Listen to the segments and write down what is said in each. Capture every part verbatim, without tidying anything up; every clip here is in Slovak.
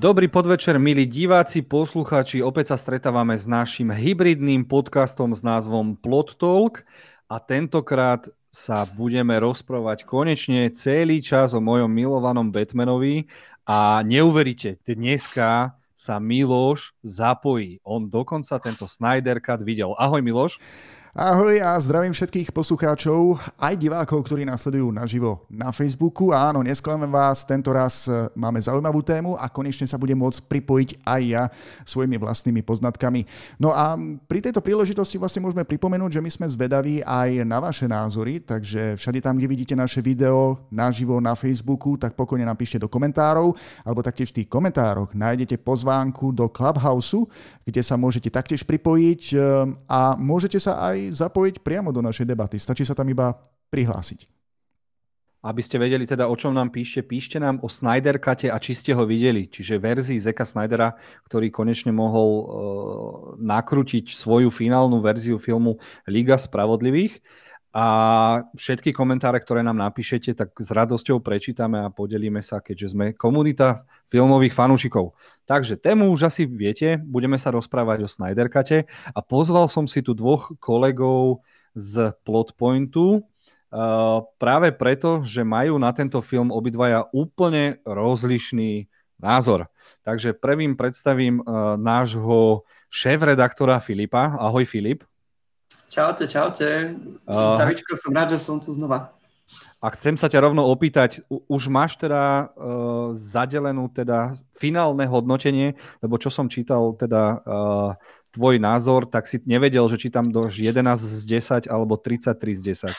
Dobrý podvečer, milí diváci, poslucháči. Opäť sa stretávame s našim hybridným podcastom s názvom Plot Talk a tentokrát sa budeme rozprávať konečne celý čas o mojom milovanom Batmanovi a neuveríte, dneska sa Miloš zapojí. On dokonca tento Snyder Cut videl. Ahoj Miloš. Ahoj a zdravím všetkých poslucháčov, aj divákov, ktorí nás sledujú naživo na Facebooku. A áno, nesklamem vás, tento raz máme zaujímavú tému a konečne sa budem môcť pripojiť aj ja svojimi vlastnými poznatkami. No a pri tejto príležitosti vlastne môžeme pripomenúť, že my sme zvedaví aj na vaše názory, takže všade tam, kde vidíte naše video naživo na Facebooku, tak pokojne napíšte do komentárov, alebo taktiež v tých komentároch nájdete pozvánku do Clubhouse, kde sa môžete taktiež pripojiť a môžete sa aj zapojiť priamo do našej debaty. Stačí sa tam iba prihlásiť. Aby ste vedeli teda, o čom nám píšte, píšte nám o Snyder Cute a či ste ho videli, čiže verzii Zacka Snydera, ktorý konečne mohol uh, nakrútiť svoju finálnu verziu filmu Liga spravodlivých. A všetky komentáre, ktoré nám napíšete, tak s radosťou prečítame a podelíme sa, keďže sme komunita filmových fanúšikov. Takže tému už asi viete, budeme sa rozprávať o Snyder Cute a pozval som si tu dvoch kolegov z Plotpointu, uh, práve preto, že majú na tento film obidvaja úplne rozlišný názor. Takže prvým predstavím uh, nášho šéf-redaktora Filipa. Ahoj Filip. Čaute, čaute. Zdravíčko, som rád, že som tu znova. A chcem sa ťa rovno opýtať, už máš teda uh, zadelenú teda finálne hodnotenie, lebo čo som čítal teda uh, tvoj názor, tak si nevedel, že či tam dáš jedenásť z desať alebo tridsaťtri z desať.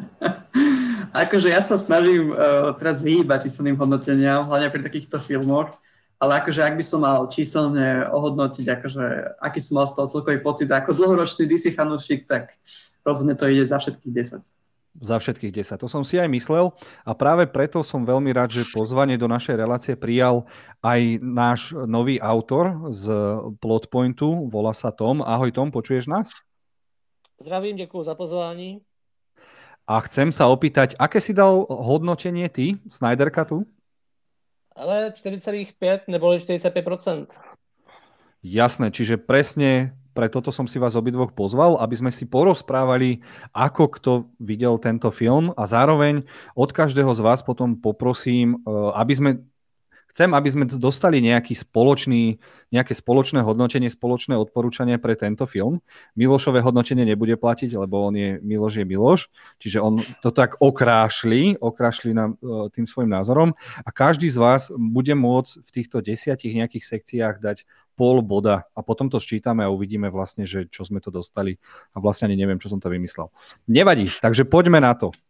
Akože ja sa snažím uh, teraz vyhýbať číselným hodnoteniam, hlavne pri takýchto filmoch, ale akože ak by som mal číselne ohodnotiť, akože aký som mal z toho celkový pocit, ako dlhoročný dé cé fanúšik, tak rozhodne to ide za všetkých desať. Za všetkých desať. To som si aj myslel a práve preto som veľmi rád, že pozvanie do našej relácie prijal aj náš nový autor z Plotpointu, volá sa Tom. Ahoj Tom, počuješ nás? Zdravím, ďakujem za pozvání. A chcem sa opýtať, aké si dal hodnotenie ty Snyder Cutu? Ale štyri celé päť neboli štyridsaťpäť percent. Jasné, čiže presne pre toto som si vás obidvoch pozval, aby sme si porozprávali, ako kto videl tento film a zároveň od každého z vás potom poprosím, aby sme Chcem, aby sme dostali nejaký spoločný, nejaké spoločné hodnotenie, spoločné odporúčanie pre tento film. Milošové hodnotenie nebude platiť, lebo on je Miloš je Miloš, čiže on to tak okrášli, okrášli nám tým svojim názorom a každý z vás bude môcť v týchto desiatich nejakých sekciách dať pol boda a potom to sčítame a uvidíme vlastne, že čo sme to dostali a vlastne ani neviem, čo som to vymyslel. Nevadí, takže poďme na to.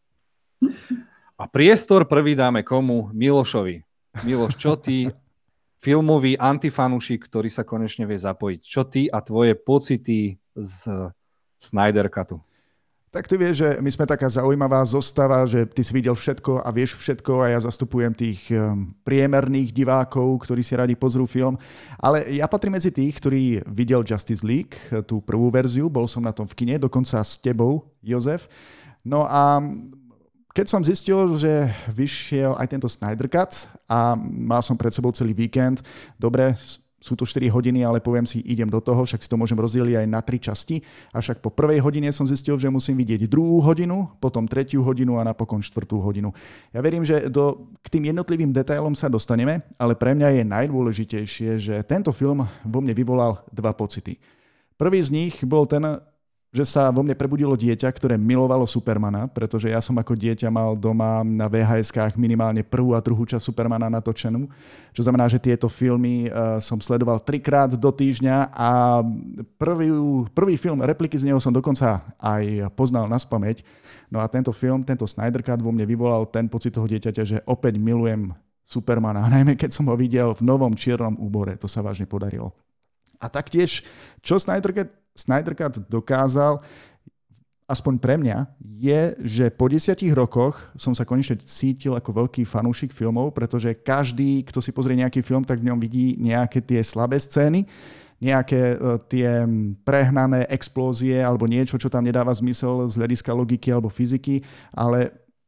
A priestor prvý dáme komu? Milošovi. Miloš, čo ty, filmový antifanúšik, ktorý sa konečne vie zapojiť, čo ty a tvoje pocity z Snyder Cutu? Tak ty vieš, že my sme taká zaujímavá zostava, že ty si videl všetko a vieš všetko a ja zastupujem tých priemerných divákov, ktorí si radi pozrú film. Ale ja patrím medzi tých, ktorí videl Justice League, tú prvú verziu, bol som na tom v kine, dokonca s tebou, Jozef. No a keď som zistil, že vyšiel aj tento Snyder Cut a mal som pred sebou celý víkend, dobre, sú to štyri hodiny, ale poviem si, idem do toho, však si to môžem rozdeliť aj na tri časti. Avšak po prvej hodine som zistil, že musím vidieť druhú hodinu, potom tretiu hodinu a napokon štvrtú hodinu. Ja verím, že do, k tým jednotlivým detailom sa dostaneme, ale pre mňa je najdôležitejšie, že tento film vo mne vyvolal dva pocity. Prvý z nich bol ten, že sa vo mne prebudilo dieťa, ktoré milovalo Supermana, pretože ja som ako dieťa mal doma na vé há eskách minimálne prvú a druhú časť Supermana natočenú, čo znamená, že tieto filmy uh, som sledoval trikrát do týždňa a prvý, prvý film, repliky z neho som dokonca aj poznal naspamäť. No a tento film, tento Snyder Cut vo mne vyvolal ten pocit toho dieťaťa, že opäť milujem Supermana, najmä keď som ho videl v novom čiernom úbore, to sa vážne podarilo. A taktiež, čo Snyder Cut Snyder Cut dokázal, aspoň pre mňa, je, že po desiatich rokoch som sa konečne cítil ako veľký fanúšik filmov, pretože každý, kto si pozrie nejaký film, tak v ňom vidí nejaké tie slabé scény, nejaké uh, tie prehnané explózie alebo niečo, čo tam nedáva zmysel z hľadiska logiky alebo fyziky, ale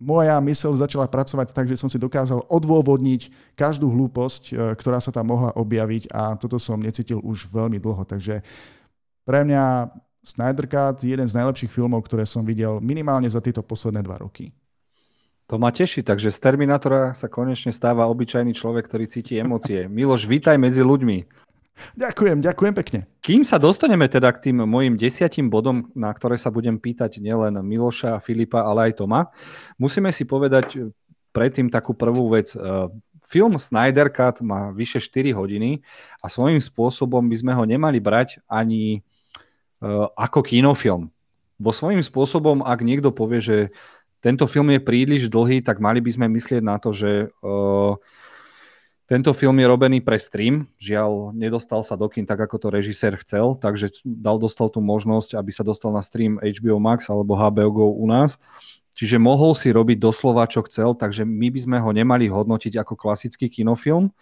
moja myseľ začala pracovať tak, že som si dokázal odôvodniť každú hlúposť, ktorá sa tam mohla objaviť a toto som necítil už veľmi dlho. Takže pre mňa Snyder Cut je jeden z najlepších filmov, ktoré som videl minimálne za tieto posledné dva roky. To ma teší, takže z Terminátora sa konečne stáva obyčajný človek, ktorý cíti emócie. Miloš, vítaj medzi ľuďmi. Ďakujem, ďakujem pekne. Kým sa dostaneme teda k tým mojim desiatim bodom, na ktoré sa budem pýtať nielen Miloša, Filipa, ale aj Toma, musíme si povedať predtým takú prvú vec. Film Snyder Cut má vyše štyri hodiny a svojím spôsobom by sme ho nemali brať ani ako kinofilm. Bo svojím spôsobom, ak niekto povie, že tento film je príliš dlhý, tak mali by sme myslieť na to, že uh, tento film je robený pre stream. Žiaľ, nedostal sa do kín tak, ako to režisér chcel, takže dal, dostal tú možnosť, aby sa dostal na stream há bé ó Max alebo há bé ó Go u nás. Čiže mohol si robiť doslova, čo chcel, takže my by sme ho nemali hodnotiť ako klasický kinofilm.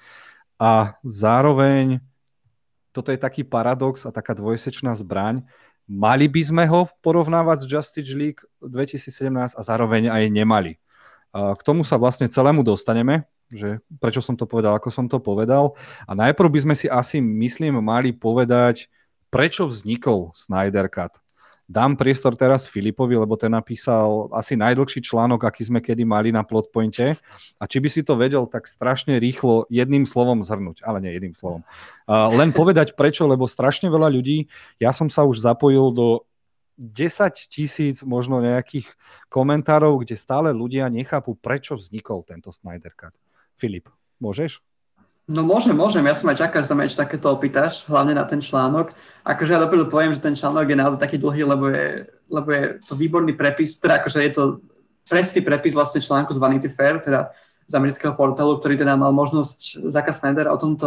A zároveň, toto je taký paradox a taká dvojsečná zbraň, mali by sme ho porovnávať s Justice League dvetisícsedemnásť a zároveň aj nemali. K tomu sa vlastne celému dostaneme, že prečo som to povedal, ako som to povedal. A najprv by sme si asi, myslím, mali povedať, prečo vznikol Snyder Cut. Dám priestor teraz Filipovi, lebo ten napísal asi najdlhší článok, aký sme kedy mali na Plotpointe. A či by si to vedel tak strašne rýchlo jedným slovom zhrnúť, ale nie jedným slovom. Uh, len povedať prečo, lebo strašne veľa ľudí, ja som sa už zapojil do desať tisíc možno nejakých komentárov, kde stále ľudia nechápu, prečo vznikol tento Snyder Cut. Filip, môžeš? No môžem, môžem. Ja som aj čakal, že sa ma ešte takéto opýtaš, hlavne na ten článok. Akože ja dopredu poviem, že ten článok je naozaj taký dlhý, lebo je, lebo je to výborný prepis, teda akože je to presný prepis vlastne článku z Vanity Fair, teda z amerického portálu, ktorý teda mal možnosť Zacka Snydera o tomto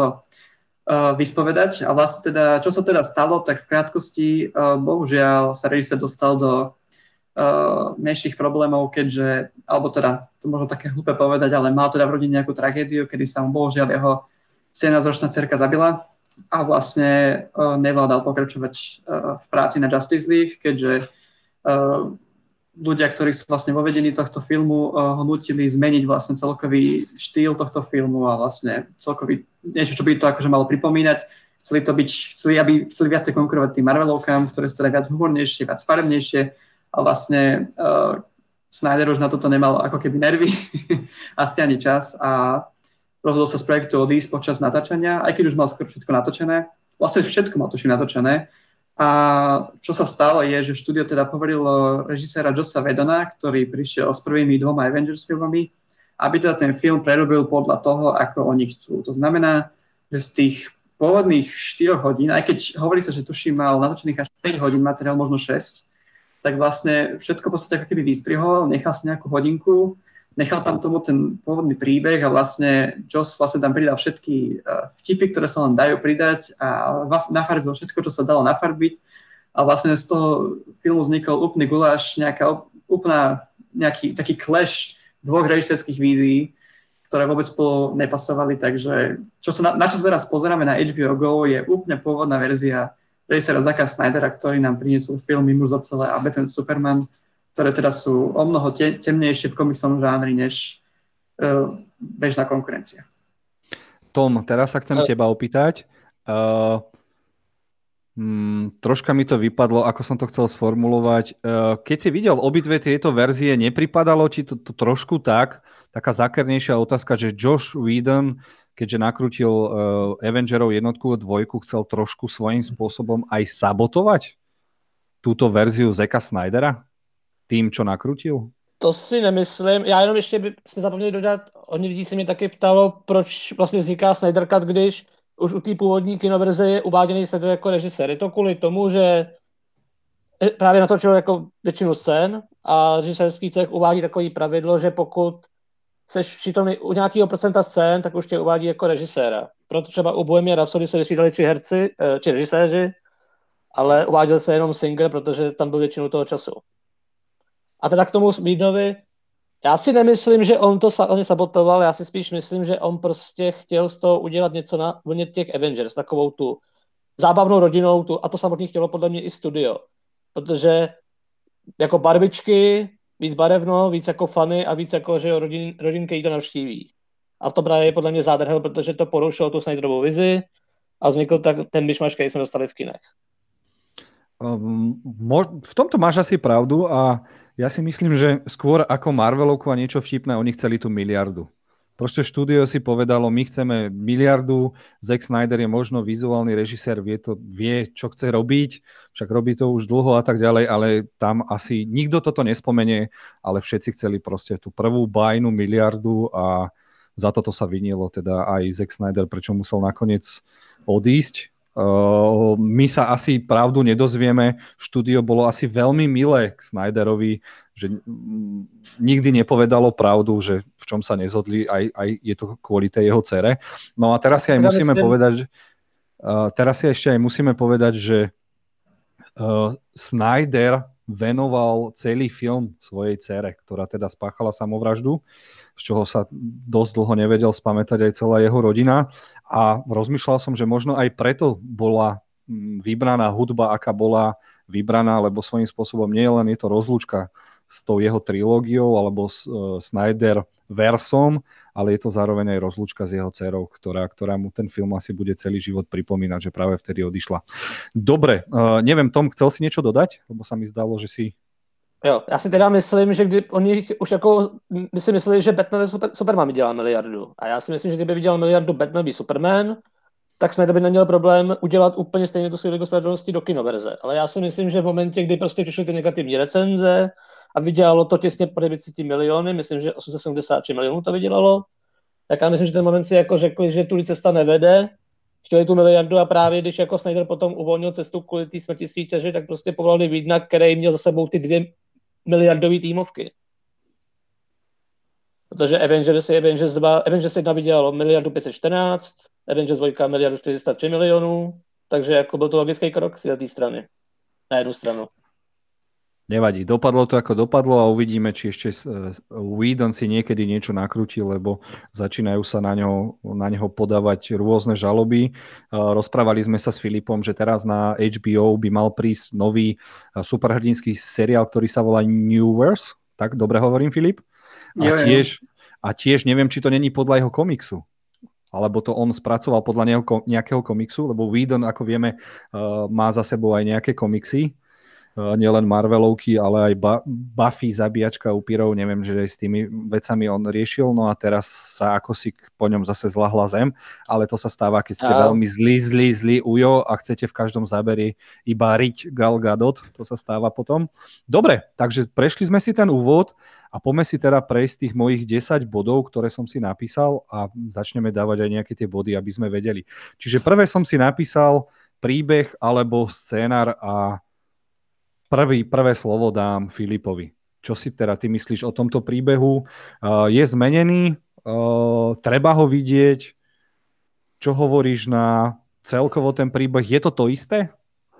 uh, vyspovedať. A vlastne teda, čo sa teda stalo, tak v krátkosti, uh, bohužiaľ sa režisér dostal do Uh, menších problémov, keďže, alebo teda, to možno také hlúpe povedať, ale mal teda v rodine nejakú tragédiu, kedy sa mu bohužiaľ jeho sedemnásťročná dcerka zabila a vlastne uh, nevládal pokračovať uh, v práci na Justice League, keďže uh, ľudia, ktorí sú vlastne vo vedení tohto filmu, uh, ho nutili zmeniť vlastne celkový štýl tohto filmu a vlastne celkový, niečo, čo by to akože malo pripomínať. Chceli to byť, chceli, aby chceli viacej konkurovať tým Marvelovkám, ktoré sú teda viac humornejšie, viac farebnejšie. A vlastne uh, Snyder už na toto nemal ako keby nervy, asi ani čas a rozhodol sa z projektu odísť počas natáčania, aj keď už mal skoro všetko natočené. Vlastne všetko mal tuším natočené. A čo sa stalo je, že štúdio teda poverilo režiséra Jossa Whedona, ktorý prišiel s prvými dvoma Avengers filmami, aby teda ten film prerobil podľa toho, ako oni chcú. To znamená, že z tých pôvodných štyroch hodín, aj keď hovorí sa, že tuším mal natočených až päť hodín materiál, možno šesť, tak vlastne všetko v podstate ako keby vystrihol, nechal si nejakú hodinku, nechal tam tomu ten pôvodný príbeh a vlastne Joss vlastne tam pridal všetky vtipy, ktoré sa len dajú pridať a nafarbil všetko, čo sa dalo nafarbiť a vlastne z toho filmu vznikol úplný guláš, nejaká úplná, nejaký taký clash dvoch režisérskych vízií, ktoré vôbec spolu nepasovali, takže čo sa na, na čo teraz pozeráme na há bé ó Go je úplne pôvodná verzia režisera Zacka Snydera, ktorý nám priniesol filmy Muž z ocele a Batman Superman, ktoré teda sú o mnoho te- temnejšie v komiksovom žánri než uh, bežná konkurencia. Tom, teraz sa chcem uh. teba opýtať. Uh, hmm, troška mi to vypadlo, ako som to chcel sformulovať. Uh, keď si videl obidve tieto verzie, nepripadalo ti to, to trošku tak, taká zákernejšia otázka, že Joss Whedon, keďže nakrútil uh, Avengerov jednotku a dvojku, chcel trošku svojím spôsobom aj sabotovať túto verziu Zacka Snydera tým, čo nakrútil? To si nemyslím. Já jenom ještě by jsme zapomněli dodat, hodně lidí se mě taky ptalo, proč vlastně vzniká Snyder Cut, když už u té původní kinoverze je uváděný Snyder jako režisér. Je to kvůli tomu, že právě natočil jako většinu scén a režisérský cech uvádí takový pravidlo, že pokud seš přítomný u nějakého procenta scén, tak už tě uvádí jako režiséra. Proto třeba u Bohemian Rhapsody se vystřídali tři herci, či režiséři, ale uváděl se jenom Singer, protože tam byl většinu toho času. A teda k tomu Whedonovi, já si nemyslím, že on to on sabotoval, já si spíš myslím, že on prostě chtěl z toho udělat něco na vlně těch Avengers, takovou tu zábavnou rodinou, tu, a to samotný chtělo podle mě i studio. Protože jako barvičky, víc barevno, víc jako fany a víc jako, že jo, rodin, rodinky to navštíví. A to právě je podle mě zádrhel, protože to porušilo tu Snyderovou vizi a vznikl tak ten myšmaš, který jsme dostali v kinech. Um, v tomto máš asi pravdu a ja si myslím, že skôr ako Marvelovku a niečo vtipné, oni chceli tú miliardu. Proste štúdio si povedalo, my chceme miliardu, Zack Snyder je možno vizuálny režisér, vie, to, vie, čo chce robiť, však robí to už dlho a tak ďalej, ale tam asi nikto toto nespomenie, ale všetci chceli proste tú prvú bajnú miliardu a za toto sa vinilo teda aj Zack Snyder, prečo musel nakoniec odísť. Uh, my sa asi pravdu nedozvieme. Štúdio bolo asi veľmi milé k Snyderovi, že nikdy nepovedalo pravdu, že v čom sa nezhodli, aj, aj je to kvôli tej jeho dcere. No a teraz si aj musíme povedať, uh, teraz si ešte aj musíme povedať, že uh, Snyder venoval celý film svojej dcere, ktorá teda spáchala samovraždu, z čoho sa dosť dlho nevedel spamätať aj celá jeho rodina. A rozmýšľal som, že možno aj preto bola vybraná hudba, aká bola vybraná, lebo svojím spôsobom nie len je to rozlúčka s tou jeho trilógiou alebo s uh, Snyder versom, ale je to zároveň aj rozlúčka s jeho dcerou, ktorá, ktorá mu ten film asi bude celý život pripomínať, že práve vtedy odišla. Dobre, uh, neviem, Tom, chcel si niečo dodať? Lebo sa mi zdalo, že si... Jo, já si teda myslím, že kdy oni už jako, by si mysleli, že Batman super, Superman vydělá miliardu. A já si myslím, že kdyby vydělal miliardu Batman by Superman, tak Snyder by neměl problém udělat úplně stejně tu svou Ligu spravedlnosti do kinoverze. Ale já si myslím, že v momentě, kdy prostě přišly ty negativní recenze a vydělalo to těsně po devět set miliony, myslím, že osm set sedmdesát tři milionů to vydělalo, tak já myslím, že ten moment si jako řekli, že tu cesta nevede, chtěli tu miliardu a právě když jako Snyder potom uvolnil cestu kvůli té smrti svých dceři, tak prostě povolali Vídna, který měl za sebou ty dvě miliardový týmovky. Protože Avengers je Avengers dva, Avengers jedna vydělalo miliardu pět set čtrnáct, Avengers dva miliardu čtyři sta tři milionů, takže jako byl to logický krok z té strany. Na jednu stranu. Nevadí, dopadlo to ako dopadlo a uvidíme, či ešte Whedon si niekedy niečo nakrúti, lebo začínajú sa na neho, na neho podávať rôzne žaloby. Rozprávali sme sa s Filipom, že teraz na há bé ó by mal prísť nový superhrdinský seriál, ktorý sa volá Newverse. Tak, dobre hovorím, Filip? A tiež, a tiež neviem, či to není podľa jeho komiksu. Alebo to on spracoval podľa neho, nejakého komiksu, lebo Whedon, ako vieme, má za sebou aj nejaké komiksy. Nielen Marvelovky, ale aj Buffy, zabíjačka upírov, neviem, že aj s tými vecami on riešil, no a teraz sa ako si po ňom zase zľahla zem, ale to sa stáva, keď ste a... veľmi zlý, zlý, zlý ujo a chcete v každom záberi iba riť Gal Gadot, to sa stáva potom. Dobre, takže prešli sme si ten úvod a poďme si teda prejsť tých mojich desať bodov, ktoré som si napísal a začneme dávať aj nejaké tie body, aby sme vedeli. Čiže prvé som si napísal príbeh alebo scénar a Prvý, prvé slovo dám Filipovi. Čo si teda ty myslíš o tomto príbehu? Uh, je zmenený? Uh, treba ho vidieť? Čo hovoríš na celkovo ten príbeh? Je to to isté?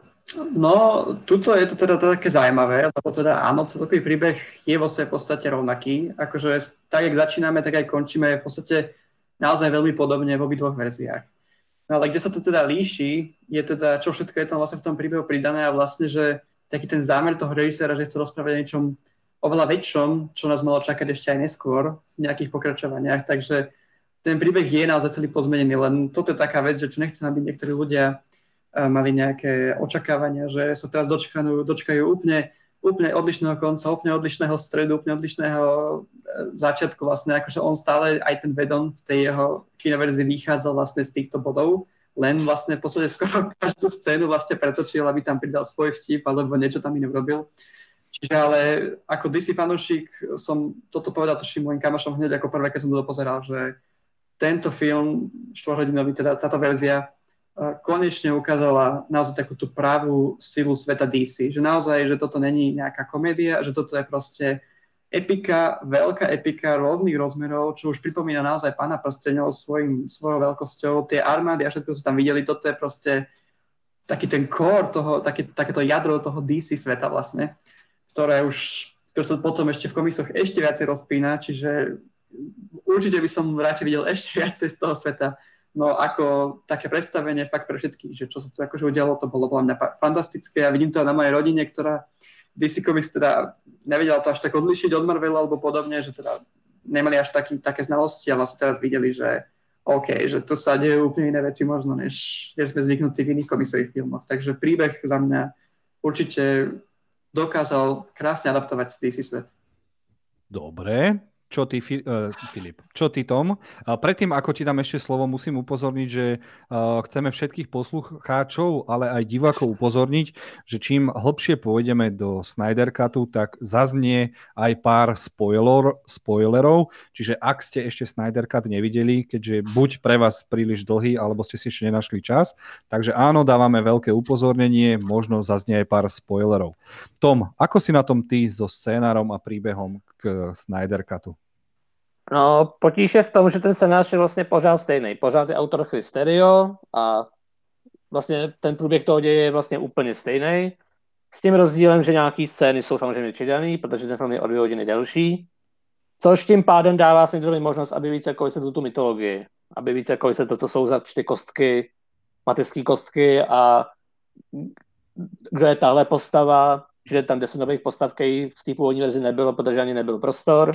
No, tuto je to teda také zaujímavé, lebo teda áno, celkový príbeh je vo svojej podstate rovnaký. Akože tak, jak začíname, tak aj končíme v podstate naozaj veľmi podobne v obidvoch verziách. No ale kde sa to teda líši, je teda, čo všetko je tam vlastne v tom príbehu pridané a vlastne, že taký ten zámer toho režiséra, že chce rozprávať o niečom oveľa väčšom, čo nás malo čakať ešte aj neskôr v nejakých pokračovaniach. Takže ten príbeh je naozaj celý pozmenený, len toto je taká vec, že čo nechcem, aby niektorí ľudia uh, mali nejaké očakávania, že sa teraz dočkajú, dočkajú úplne, úplne odlišného konca, úplne odlišného stredu, úplne odlišného uh, začiatku vlastne, akože on stále, aj ten Whedon v tej jeho kinoverzii vychádzal vlastne z týchto bodov, len vlastne v podstate skoro každú scénu vlastne pretočil, aby tam pridal svoj vtip, alebo niečo tam iné urobil. Čiže ale ako dé cé fanúšik som toto povedal tuším môjim kamošom hneď ako prvé, keď som to pozeral, že tento film, štvorhodinový, teda táto verzia, konečne ukázala naozaj takú tú pravú silu sveta dé cé. Že naozaj, že toto není nejaká komédia, že toto je proste epika, veľká epika rôznych rozmerov, čo už pripomína naozaj Pána prsteňov svojim, svojou veľkosťou. Tie armády a všetko, čo tam videli, toto je proste taký ten core toho, taký, takéto jadro toho dé cé sveta vlastne, ktoré už, ktoré sa potom ešte v komiksoch ešte viacej rozpína, čiže určite by som radšej videl ešte viacej z toho sveta. No ako také predstavenie fakt pre všetkých, že čo sa tu akože udialo, to bolo podľa mňa fantastické a vidím to na mojej rodine, ktorá dé cé Comics teda nevedela to až tak odlišiť od Marvelu alebo podobne, že teda nemali až taký, také znalosti a vlastne teraz videli, že OK, že to sa dejú úplne iné veci možno, než, než sme zvyknutí v iných komiksových filmoch. Takže príbeh za mňa určite dokázal krásne adaptovať dé cé svet. Dobre. Čo ty, uh, Filip? Čo ty, Tom? A predtým, ako ti dám ešte slovo, musím upozorniť, že uh, chceme všetkých poslucháčov, ale aj divákov upozorniť, že čím hlbšie pôjdeme do Snyder Cutu, tak zaznie aj pár spoiler, spoilerov. Čiže ak ste ešte Snyder Cut nevideli, keďže buď pre vás príliš dlhý, alebo ste si ešte nenašli čas, takže áno, dávame veľké upozornenie, možno zaznie aj pár spoilerov. Tom, ako si na tom ty so scénárom a príbehom k Snyder Cutu? No, potíž je v tom, že ten scénář je vlastně pořád stejný. Pořád je autor Chris Terrio a vlastně ten průběh toho děje je vlastně úplně stejný. S tím rozdílem, že nějaký scény jsou samozřejmě přidaný, protože ten film je o dvě hodiny delší. Což tím pádem dává Snyderovi možnost, aby víc jako vysvětlil tu mytologii. Aby víc jako vysvětlil, co jsou za čty kostky, mateřské kostky a kdo je tahle postava, že tam deset nových postav, který v té původní verzi nebylo, protože ani nebyl prostor.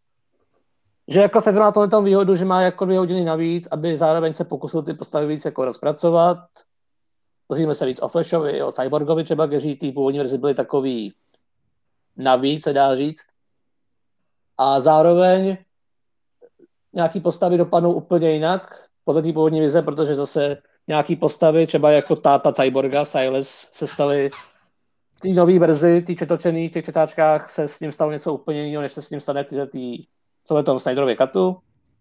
Že jako se má tohle výhodu, že má jako dvě hodiny navíc, aby zároveň se pokusil ty postavy víc jako rozpracovat. Dozvíme se víc o Flashovi, o Cyborgovi třeba, kteří v té původní verzi byli takový navíc, se dá říct. A zároveň nějaký postavy dopadnou úplně jinak podle té původní vize, protože zase nějaký postavy, třeba jako táta Cyborga, Silas, se staly v té nové verzi, té četočený, v těch četáčkách se s ním stalo něco úplně jiného, než se s ním stane v té tohletom Snyderově katu.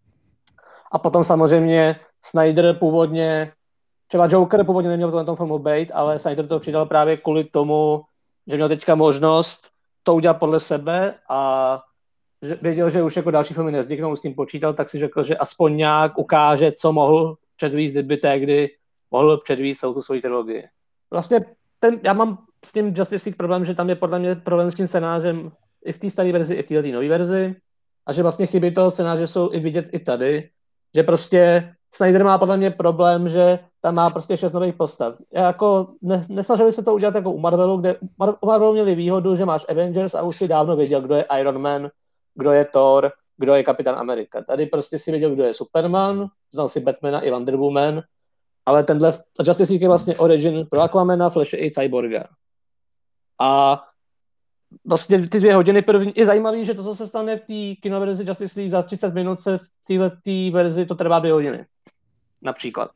A potom samozřejmě Snyder původně, třeba Joker původně neměl v tomhle filmu být, ale Snyder to přidal právě kvůli tomu, že měl teďka možnost to udělat podle sebe a že věděl, že už jako další filmy nevzniknou, s tím počítal, tak si řekl, že aspoň nějak ukáže, co mohl předvíct, kdyby tehdy mohl předvíct celou tu svoji trilogii. Vlastně ten, já mám s tím Justice League problém, že tam je podle mě problém s tím scénářem i v té staré verzi, i v této nové verzi. A že vlastně chyby toho scénáře jsou i vidět i tady, že prostě Snyder má podle mě problém, že tam má prostě šest nových postav. Já jako ne, nesnažili se to udělat jako u Marvelu, kde u Marvelu měli výhodu, že máš Avengers a už si dávno věděl, kdo je Iron Man, kdo je Thor, kdo je Kapitán Amerika. Tady prostě si věděl, kdo je Superman, znal si Batmana i Wonder Woman, ale tenhle Justice League je vlastně origin pro Aquamana, Flashe i Cyborga. A vlastně ty dvě hodiny první, je zajímavý, že to, co se stane v té kinoverzi Justice League za třicet minut, se v této verzi to trvá dvě hodiny. Například.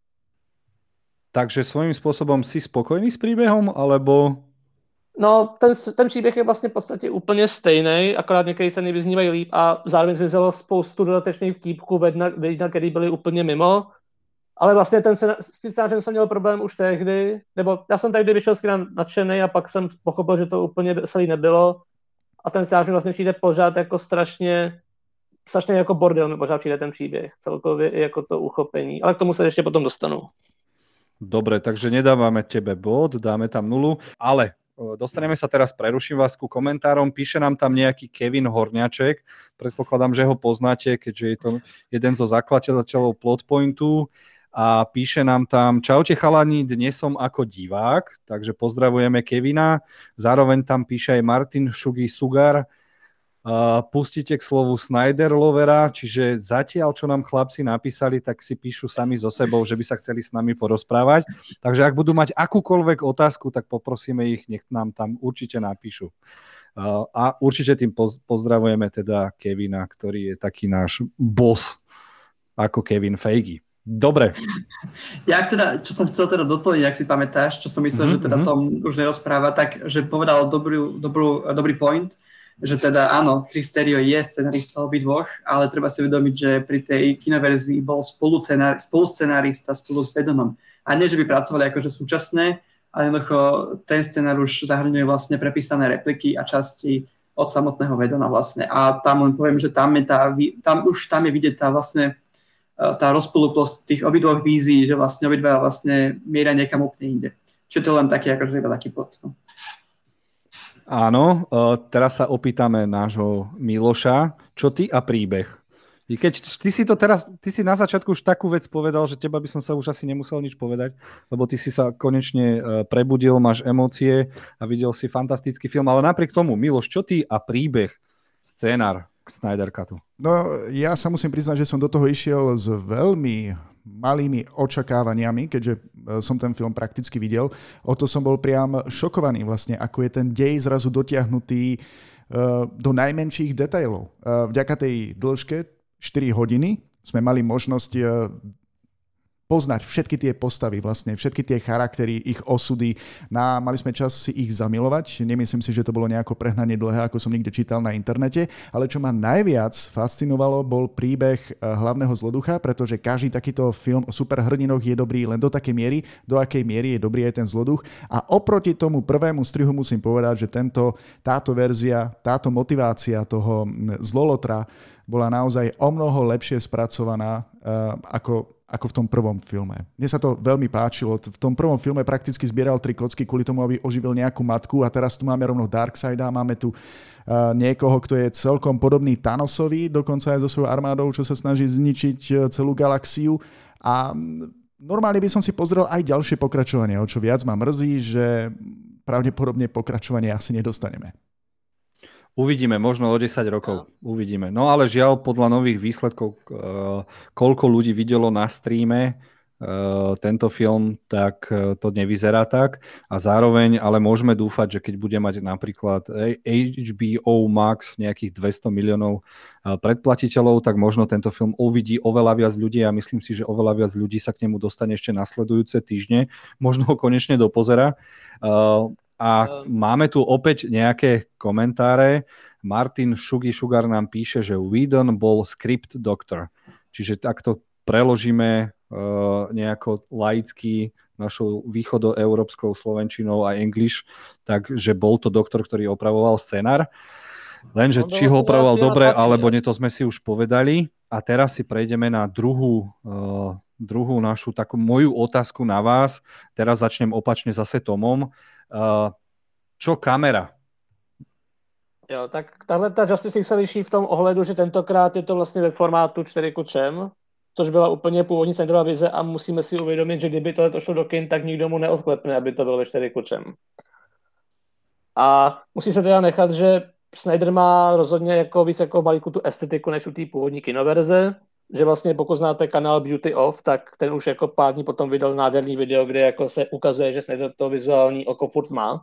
Takže svojím způsobem si spokojný s příběhem, alebo... No, ten, ten příběh je vlastně v podstatě úplně stejný, akorát některé scény vyznívají líp a zároveň zmizelo spoustu dodatečných vtípků, vedna, který byly úplně mimo. Ale vlastně ten s tím scénářem jsem měl problém už tehdy, nebo já jsem tady vyšel s kinem nadšený a pak jsem pochopil, že to úplně veselý nebylo a ten scénář mi vlastně přijde pořád jako strašně, strašně jako bordel mi pořád přijde ten příběh, celkově i jako to uchopení, ale k tomu se ještě potom dostanu. Dobre, takže nedávame tebe bod, dáme tam nulu, ale dostaneme sa teraz, preruším vás ku komentárom, píše nám tam nejaký Kevin Horňaček, predpokladám, že ho poznáte, keďže je to jeden zo zakladateľov Plotpointu a píše nám tam: čaute chalani, dnes som ako divák, takže pozdravujeme Kevina, zároveň tam píše aj Martin Šugi Sugar, Uh, pustíte k slovu Snyder Lovera, čiže zatiaľ, čo nám chlapci napísali, tak si píšu sami so sebou, že by sa chceli s nami porozprávať. Takže ak budú mať akúkoľvek otázku, tak poprosíme ich, nech nám tam určite napíšu. Uh, a určite tým poz- pozdravujeme teda Kevina, ktorý je taký náš boss, ako Kevin Feige. Dobre. Ja teda, čo som chcel teda doplniť, ak si pamätáš, čo som myslel, mm-hmm. že teda Tom už nerozpráva, tak, že povedal dobrý, dobrú, dobrý point, že teda áno, Chris Terrio je scenarista obidvoch, ale treba si uvedomiť, že pri tej kinoverzii bol spoluscenárista spolu s Vedomom. A nie, že by pracovali akože súčasné, ale jednoducho ten scenár už zahrňuje vlastne prepísané repliky a časti od samotného Vedona vlastne. A tam len poviem, že tam je tá, tam už tam je vidieť tá vlastne tá rozpoluplosť tých obidvoch vízií, že vlastne obidva vlastne mieria niekam úplne inde. Čiže to je len taký akože iba taký pod. No. Áno, teraz sa opýtame nášho Miloša, čo ty a príbeh? I keď ty si to teraz, ty si na začiatku už takú vec povedal, že teba by som sa už asi nemusel nič povedať, lebo ty si sa konečne prebudil, máš emócie a videl si fantastický film, ale napriek tomu, Miloš, čo ty a príbeh, scénar k Snyder Cutu? No, ja sa musím priznať, že som do toho išiel s veľmi malými očakávaniami, keďže som ten film prakticky videl. O to som bol priam šokovaný vlastne, ako je ten dej zrazu dotiahnutý do najmenších detailov. Vďaka tej dĺžke štyri hodiny sme mali možnosť poznať všetky tie postavy, vlastne všetky tie charaktery, ich osudy. Na, mali sme čas si ich zamilovať. Nemyslím si, že to bolo nejako prehnane dlhé, ako som niekde čítal na internete, ale čo ma najviac fascinovalo, bol príbeh hlavného zloducha, pretože každý takýto film o superhrdinoch je dobrý len do takej miery, do akej miery je dobrý aj ten zloduch. A oproti tomu prvému strihu musím povedať, že tento, táto verzia, táto motivácia toho zlolotra bola naozaj o mnoho lepšie spracovaná uh, ako, ako v tom prvom filme. Mne sa to veľmi páčilo. V tom prvom filme prakticky zbieral tri kocky kvôli tomu, aby oživil nejakú matku a teraz tu máme rovno Darkseida, máme tu uh, niekoho, kto je celkom podobný Thanosovi, dokonca aj so svojou armádou, čo sa snaží zničiť celú galaxiu. A normálne by som si pozrel aj ďalšie pokračovanie, o čo viac ma mrzí, že pravdepodobne pokračovanie asi nedostaneme. Uvidíme, možno o desať rokov. Uvidíme. No ale žiaľ, podľa nových výsledkov, koľko ľudí videlo na streame tento film, tak to nevyzerá tak. A zároveň, ale môžeme dúfať, že keď bude mať napríklad há bé ó Max nejakých dvesto miliónov predplatiteľov, tak možno tento film uvidí oveľa viac ľudí a myslím si, že oveľa viac ľudí sa k nemu dostane ešte nasledujúce týždne. Možno ho konečne dopozerá. A máme tu opäť nejaké komentáre. Martin Šugi Šugar nám píše, že Whedon bol script doctor. Čiže takto preložíme uh, nejako laicky našou východoeurópskou slovenčinou a English, takže bol to doktor, ktorý opravoval scenár. Lenže či ho opravoval dobre, alebo nie, to sme si už povedali. A teraz si prejdeme na druhú, uh, druhú našu takú moju otázku na vás. Teraz začnem opačne zase Tomom. Uh, čo kamera? Jo, tak tahle ta Justice League se liší v tom ohledu, že tentokrát je to vlastně ve formátu čtyři ku třem, což byla úplně původní Snyderova vize a musíme si uvědomit, že kdyby tohle šlo do kin, tak nikdo mu neodklepne, aby to bylo ve čtyři ku třem. A musí se teda nechat, že Snyder má rozhodně jako víc jako balíku tu estetiku než u té původní kinoverze, že vlastně pokud znáte kanál Beauty Of, tak ten už jako pár dní potom vydal nádherný video, kde jako se ukazuje, že Snyder to vizuální oko furt má.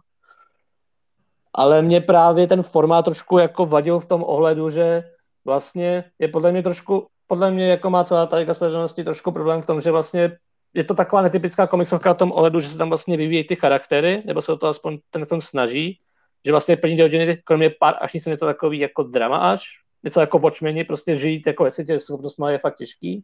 Ale mě právě ten formát trošku jako vadil v tom ohledu, že vlastně je podle mě trošku, podle mě jako má celá ta liga spravedlnosti trošku problém v tom, že vlastně je to taková netypická komiksovka v tom ohledu, že se tam vlastně vyvíjí ty charaktery, nebo se o to aspoň ten film snaží, že vlastně první hodiny, kromě pár až je to takový jako drama až, něco jako Watchmeni, prostě žít jako ve světě schopnostma je fakt těžký.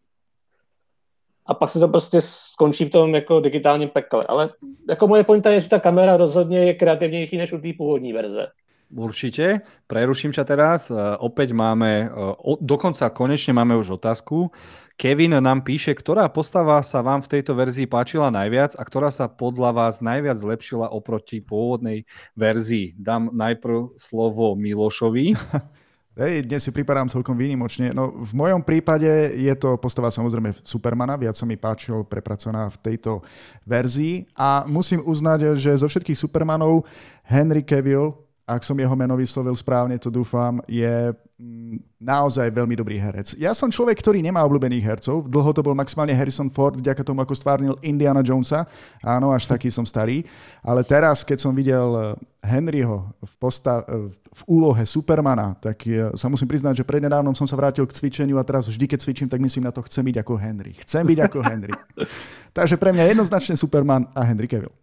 A pak se to prostě skončí v tom jako digitálním pekle. Ale jako moje pointa je, že ta kamera rozhodně je kreativnější než u té původní verze. Určite. Preruším ťa teraz. Opäť máme, dokonca konečne máme už otázku. Kevin nám píše, ktorá postava sa vám v tejto verzii páčila najviac a ktorá sa podľa vás najviac zlepšila oproti pôvodnej verzii. Dám najprv slovo Milošovi. Hej, dnes si pripadám celkom výnimočne. No, v mojom prípade je to postava samozrejme Supermana, viac sa mi páčil prepracovaná v tejto verzii a musím uznať, že zo všetkých Supermanov Henry Cavill, ak som jeho meno vyslovil správne, to dúfam, je naozaj veľmi dobrý herec. Ja som človek, ktorý nemá obľúbených hercov. Dlho to bol maximálne Harrison Ford, vďaka tomu, ako stvárnil Indiana Jonesa. Áno, až taký som starý. Ale teraz, keď som videl Henryho v, postav- v úlohe Supermana, tak sa musím priznať, že prednedávnom som sa vrátil k cvičeniu a teraz vždy, keď cvičím, tak myslím na to, chcem byť ako Henry. Chcem byť ako Henry. Takže pre mňa jednoznačne Superman a Henry Cavill.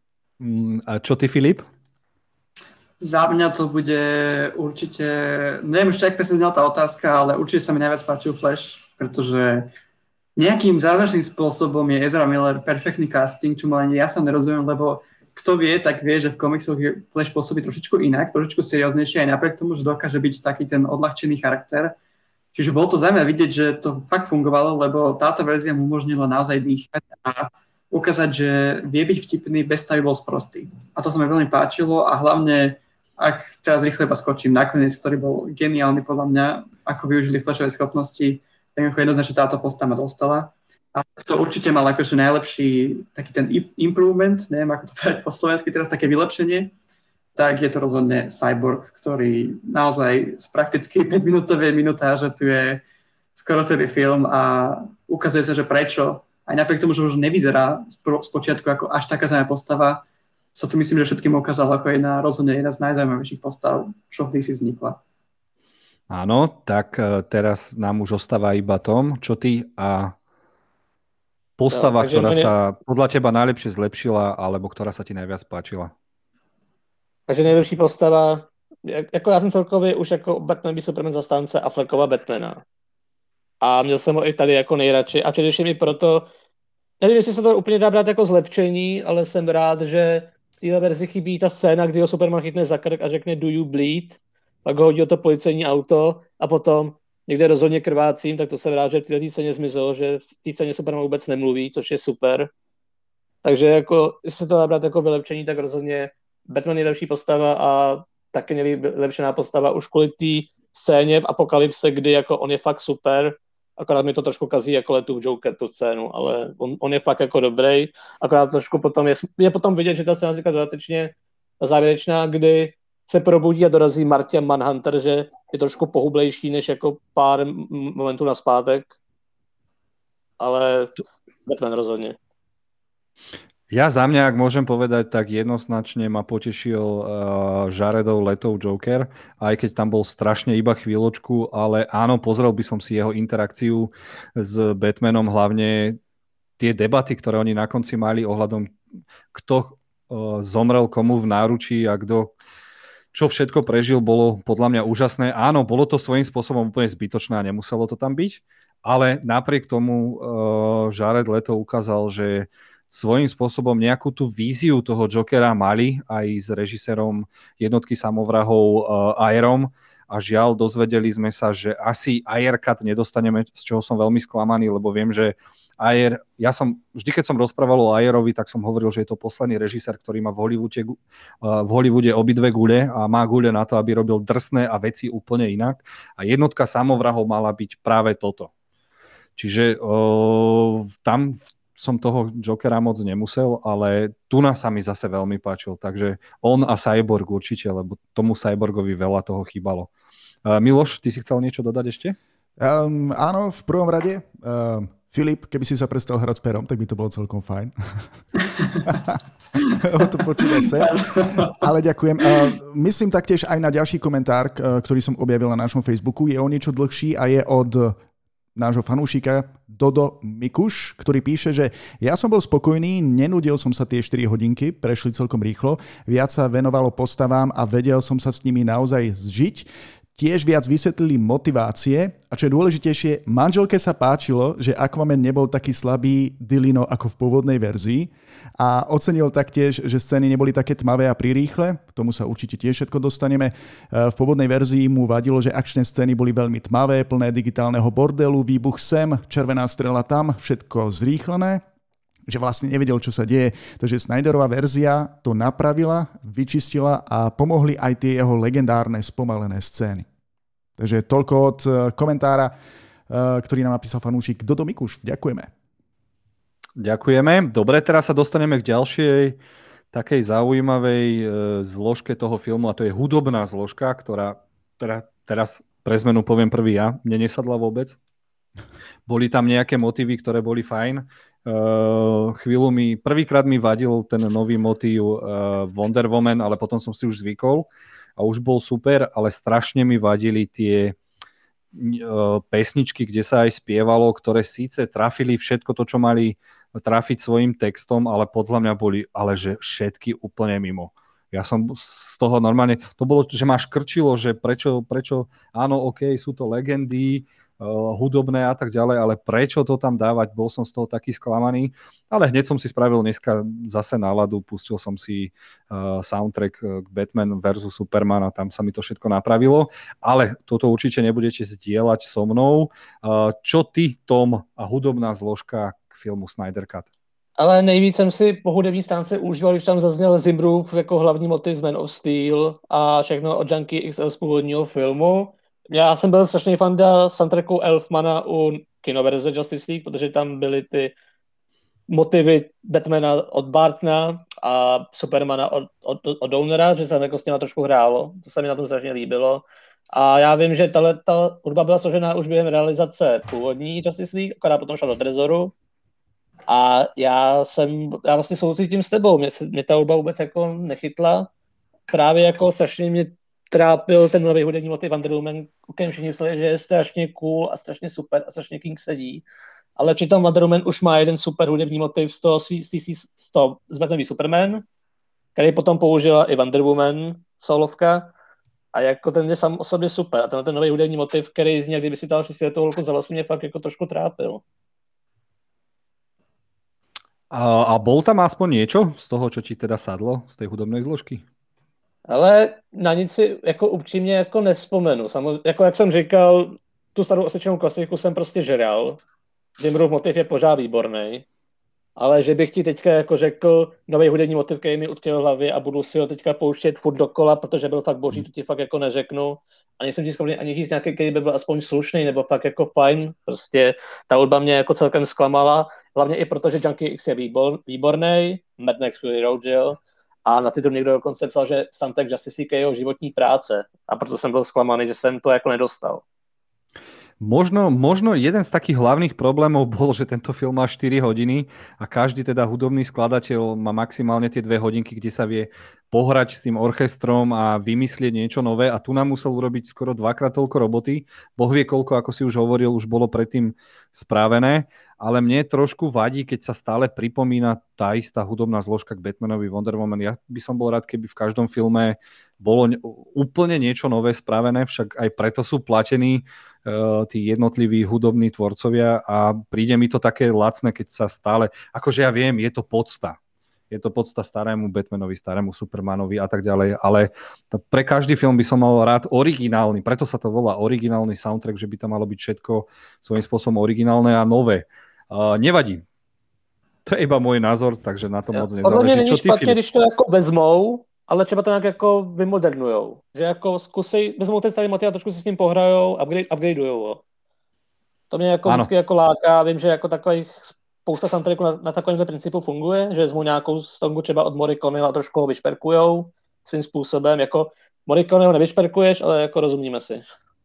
A čo ty, Filip? Za mňa to bude určite, neviem ešte, ak presne znala tá otázka, ale určite sa mi najviac páčil Flash, pretože nejakým zázračným spôsobom je Ezra Miller perfektný casting, čo ma ani ja sa nerozumiem, lebo kto vie, tak vie, že v komiksoch Flash pôsobí trošičku inak, trošičku serióznejšie, aj napriek tomu, že dokáže byť taký ten odľahčený charakter. Čiže bolo to zaujímavé vidieť, že to fakt fungovalo, lebo táto verzia mu umožnila naozaj dýchať a ukázať, že vie byť vtipný bez toho, aby bol sprostý. A to sa mi veľmi páčilo a hlavne ak teraz rýchle iba skočím nakoniec, ktorý bol geniálny podľa mňa, ako využili flashové schopnosti, tak ako jednoznačne táto postava dostala. A to určite mal akože najlepší taký ten improvement, neviem ako to povedať po slovensky teraz, také vylepšenie, tak je to rozhodne Cyborg, ktorý naozaj z prakticky päťminútovej minutáže tu je skoro celý film a ukazuje sa, že prečo, aj napriek tomu, že už nevyzerá spočiatku ako až taká zaujímavá postava, sa tu myslím, že všetkým ukázal ako jedna rozhodne jedna z najzaujímavejších postav, čo v dé cé vznikla. Áno, tak teraz nám už ostáva iba Tom, čo ty a postava, no, ktorá mne... sa podľa teba najlepšie zlepšila, alebo ktorá sa ti najviac páčila? Takže nejlepší postava, jako já jsem celkově už jako Batman by Superman zastánce Affleckova Batmana. A měl jsem ho i tady jako nejradši. A především i proto, nevím, jestli se to úplně dá brát jako zlepšení, ale jsem rád, že v téhle verzi chybí ta scéna, kdy ho Superman chytne za krk a řekne do you bleed, pak ho hodí o to policejní auto a potom někde rozhodně krvácím, tak to jsem rád, že v této scéně zmizelo, že v té scéně Superman vůbec nemluví, což je super. Takže jako, jestli se to dá brát jako vylepšení, tak rozhodně Batman je lepší postava a taky nejlepšená postava už kvůli té scéně v Apokalypse, kdy jako on je fakt super, akorát mi to trošku kazí jako letu v Joker tu scénu, ale on, on je fakt jako dobrý, akorát trošku potom je, je potom vidět, že ta scéna říká dodatečně závěrečná, kdy se probudí a dorazí Martian Manhunter, že je trošku pohublejší než jako pár momentů naspátek, ale Batman rozhodně. Ja za mňa, ak môžem povedať, tak jednoznačne ma potešil uh, Jaredov Letov Joker, aj keď tam bol strašne iba chvíľočku, ale áno, pozrel by som si jeho interakciu s Batmanom, hlavne tie debaty, ktoré oni na konci mali ohľadom, kto uh, zomrel komu v náručí a kto čo všetko prežil, bolo podľa mňa úžasné. Áno, bolo to svojím spôsobom úplne zbytočné a nemuselo to tam byť, ale napriek tomu uh, Jared Leto ukázal, že svojím spôsobom nejakú tú víziu toho Jokera mali aj s režisérom jednotky samovrahov uh, Ayerom a žiaľ, dozvedeli sme sa, že asi Ayer cut nedostaneme, z čoho som veľmi sklamaný, lebo viem, že Ayer, ja som, vždy keď som rozprával o Ayerovi, tak som hovoril, že je to posledný režisér, ktorý má v Hollywoode, uh, v Hollywoode obidve gule a má gule na to, aby robil drsné a veci úplne inak. A jednotka samovrahov mala byť práve toto. Čiže uh, tam som toho Jokera moc nemusel, ale Tuna sa mi zase veľmi páčil, takže on a Cyborg určite, lebo tomu Cyborgovi veľa toho chýbalo. Uh, Miloš, ty si chcel niečo dodať ešte? Um, áno, v prvom rade. Um, Filip, keby si sa prestal hrať s perom, tak by to bolo celkom fajn. O to počúvaš sa. Ale ďakujem. Uh, myslím taktiež aj na ďalší komentár, uh, ktorý som objavil na našom Facebooku. Je o niečo dlhší a je od nášho fanúšika Dodo Mikuš, ktorý píše, že ja som bol spokojný, nenudil som sa tie štyri hodinky, prešli celkom rýchlo, viac sa venovalo postavám a vedel som sa s nimi naozaj zžiť. Tiež viac vysvetlili motivácie a čo je dôležitejšie, manželke sa páčilo, že Aquaman nebol taký slabý Dilino ako v pôvodnej verzii a ocenil taktiež, že scény neboli také tmavé a prirýchle, k tomu sa určite tiež všetko dostaneme. V pôvodnej verzii mu vadilo, že akčné scény boli veľmi tmavé, plné digitálneho bordelu, výbuch sem, červená strela tam, všetko zrýchlené, že vlastne nevedel, čo sa deje. Takže Snyderová verzia to napravila, vyčistila a pomohli aj tie jeho legendárne spomalené scény. Takže toľko od komentára, ktorý nám napísal fanúšik Dodo Mikuš. Ďakujeme. Ďakujeme. Dobre, teraz sa dostaneme k ďalšej takej zaujímavej zložke toho filmu a to je hudobná zložka, ktorá teda, teraz pre zmenu poviem prvý ja, mne nesadla vôbec. Boli tam nejaké motívy, ktoré boli fajn. Uh, chvíľu mi, prvýkrát mi vadil ten nový motív uh, Wonder Woman, ale potom som si už zvykol a už bol super, ale strašne mi vadili tie uh, pesničky, kde sa aj spievalo, ktoré síce trafili všetko to, čo mali trafiť svojim textom, ale podľa mňa boli, ale že všetky úplne mimo. Ja som z toho normálne, to bolo, že ma škrčilo, že prečo, prečo, áno, ok, sú to legendy, Uh, hudobné a tak ďalej, ale prečo to tam dávať, bol som z toho taký sklamaný, ale hneď som si spravil dneska zase náladu, pustil som si uh, soundtrack k Batman versus Superman a tam sa mi to všetko napravilo, ale toto určite nebudete zdieľať so mnou. Uh, čo ty, Tom, a hudobná zložka k filmu Snyder Cut? Ale nejvíc jsem si po hudební stránce užíval, když tam zazněl Zimbrův jako hlavní motiv z Man of Steel a všechno od Junkie X L z původního filmu. Já jsem byl strašný fanda soundtracku Elfmana u kinoverze Justice League, protože tam byly ty motivy Batmana od Bartna a Supermana od, od, od Downera, že se jako s těma trošku hrálo. To se mi na tom strašně líbilo. A já vím, že tahle ta hudba byla složená už během realizace původní Justice League, která potom šla do Trezoru. A já jsem, já vlastně soucítím s tebou, mě, se, mě ta hudba vůbec jako nechytla. Právě jako strašně mě trápil ten nový hudební motiv Wonder Woman, u kterém všichni mysleli, že je strašně cool a strašně super a strašně King sedí. Ale přitom Wonder Woman už má jeden super hudební motiv z toho, z, z, z, toho, z Batmanový Superman, který potom použila i Wonder Woman solovka. A jako ten je sám o sobě super. A ten, ten nový hudební motiv, který z něj, kdyby si dal šestiletou holku za vlastně mě fakt jako trošku trápil. A, a bol tam aspoň niečo z toho, čo ti teda sadlo, z tej hudobnej zložky? Ale na nic si jako upřímně jako nespomenu. Samozřejmě, jako jak jsem říkal, tu starou osvědčenou klasiku jsem prostě žeral. Zimbrův motiv je pořád výborný. Ale že bych ti teďka jako řekl nový hudební motiv, který mi utkvěl v hlavě a budu si ho teďka pouštět furt dokola, protože byl fakt boží, to ti fakt jako neřeknu. A nejsem ti schopný ani říct nějaký, který by byl aspoň slušný nebo fakt jako fajn. Prostě ta hudba mě jako celkem zklamala. Hlavně i proto, že Junkie X je výbor, výborný, Mad Max Fury Road, že jo. A na titul někdo dokonce psal, že soundtrack Justice League je jeho životní práce. A proto jsem byl zklamaný, že jsem to jako nedostal. Možno, možno jeden z takých hlavných problémov bol, že tento film má štyri hodiny a každý teda hudobný skladateľ má maximálne tie dve hodinky, kde sa vie pohrať s tým orchestrom a vymyslieť niečo nové a tu nám musel urobiť skoro dvakrát toľko roboty. Boh vie koľko, ako si už hovoril, už bolo predtým spravené, ale mne trošku vadí, keď sa stále pripomína tá istá hudobná zložka k Batmanovi Wonder Woman. Ja by som bol rád, keby v každom filme bolo úplne niečo nové spravené, však aj preto sú platení uh, tí jednotliví hudobní tvorcovia a príde mi to také lacné, keď sa stále, akože ja viem, je to podsta. Je to podsta starému Batmanovi, starému Supermanovi a tak ďalej, ale pre každý film by som mal rád originálny, preto sa to volá originálny soundtrack, že by tam malo byť všetko svojím spôsobom originálne a nové. Uh, nevadí. To je iba môj názor, takže na to ja, moc nezáleží. Podľa mňa není špatně, když to jako vezmou, ale třeba to nějak jako vymodernujou. Že jako zkusej, vezmou ten starý motiv a trošku si s ním pohrajou, upgrade, upgradeujou ho. To mě jako vždycky jako láká. Vím, že jako takových spousta soundtracků na, na takovémhle principu funguje, že vezmou nějakou songu třeba od Morricone a trošku ho vyšperkujou svým způsobem. Jako Morriconeho nevyšperkuješ, ale jako rozumíme si.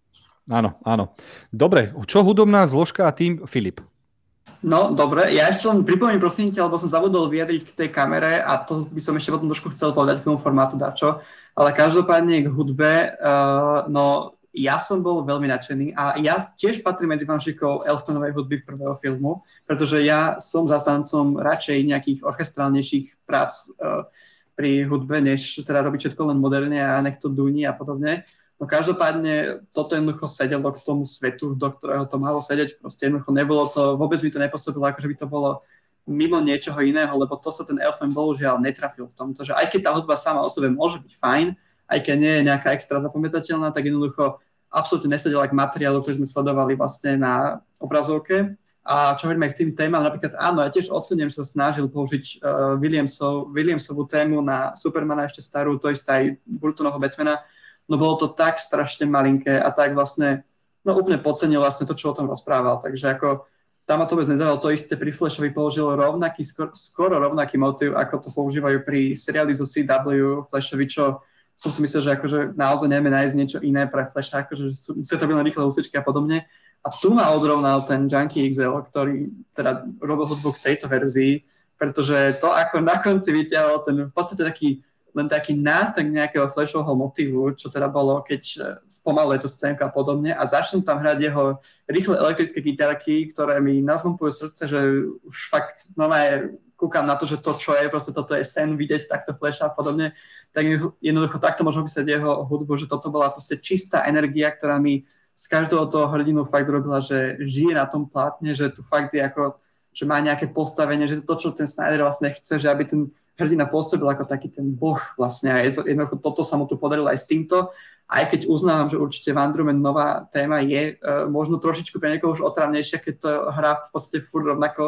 Áno, áno. Dobre, čo hudobná zložka a tým Filip? No, dobre. Ja ešte len pripomínam, prosím ťa, lebo som zabudol vyjadriť k tej kamere a to by som ešte potom trošku chcel povedať k tomu formátu dačo. Ale každopádne k hudbe, uh, no ja som bol veľmi nadšený a ja tiež patrím medzi fanšikov Elfmanovej hudby v prvého filmu, pretože ja som zastancom radšej nejakých orchestrálnejších prác uh, pri hudbe, než teda robiť všetko len moderne a nech to duní a podobne. No každopádne toto jednoducho sedelo k tomu svetu, do ktorého to malo sedieť. Proste jednoducho nebolo to, vôbec mi to nepôsobilo, ako že by to bolo mimo niečoho iného, lebo to sa ten Elfman bohužiaľ netrafil v tomto, že aj keď tá hudba sama o sebe môže byť fajn, aj keď nie je nejaká extra zapamätateľná, tak jednoducho absolútne nesedela k materiálu, ktorý sme sledovali vlastne na obrazovke. A čo hovoríme k tým témam, napríklad áno, ja tiež ocením, že sa snažil použiť uh, Williamsov, Williamsovú tému na Supermana ešte starú, to isté aj Burtonovho Batmana. No bolo to tak strašne malinké a tak vlastne, no úplne podcenil vlastne to, čo o tom rozprával. Takže ako tam ma to vôbec nezaujalo. To isté pri Flashovi použil rovnaký, skoro, skoro rovnaký motiv, ako to používajú pri seriáli zo C W Flashovi, čo som si myslel, že akože naozaj nevieme nájsť niečo iné pre Flasha, akože musia to byť len rýchle úsečky a podobne. A tu ma odrovnal ten Junkie X L, ktorý teda robil hudbu k tejto verzii, pretože to, ako na konci vyťahol ten v podstate taký len taký násek nejakého Flashovho motivu, čo teda bolo, keď spomaluje tú scénku a podobne a začnú tam hrať jeho rýchle elektrické gitarky, ktoré mi nafumpujú srdce, že už fakt normálne kúkam na to, že to, čo je, proste toto je sen vidieť takto Flasha a podobne, tak jednoducho takto môžem opísať jeho hudbu, že toto bola proste čistá energia, ktorá mi z každého toho hrdinu fakt robila, že žije na tom plátne, že tu fakt je ako, že má nejaké postavenie, že to, čo ten Snyder vlastne chce, že aby ten hrdina pôsobil ako taký ten boh vlastne a je to, jednoducho toto sa mu tu podarilo aj s týmto, aj keď uznávam, že určite Wonder Woman nová téma je uh, možno trošičku pre niekoho už otravnejšia, keď to hrá v podstate furt rovnako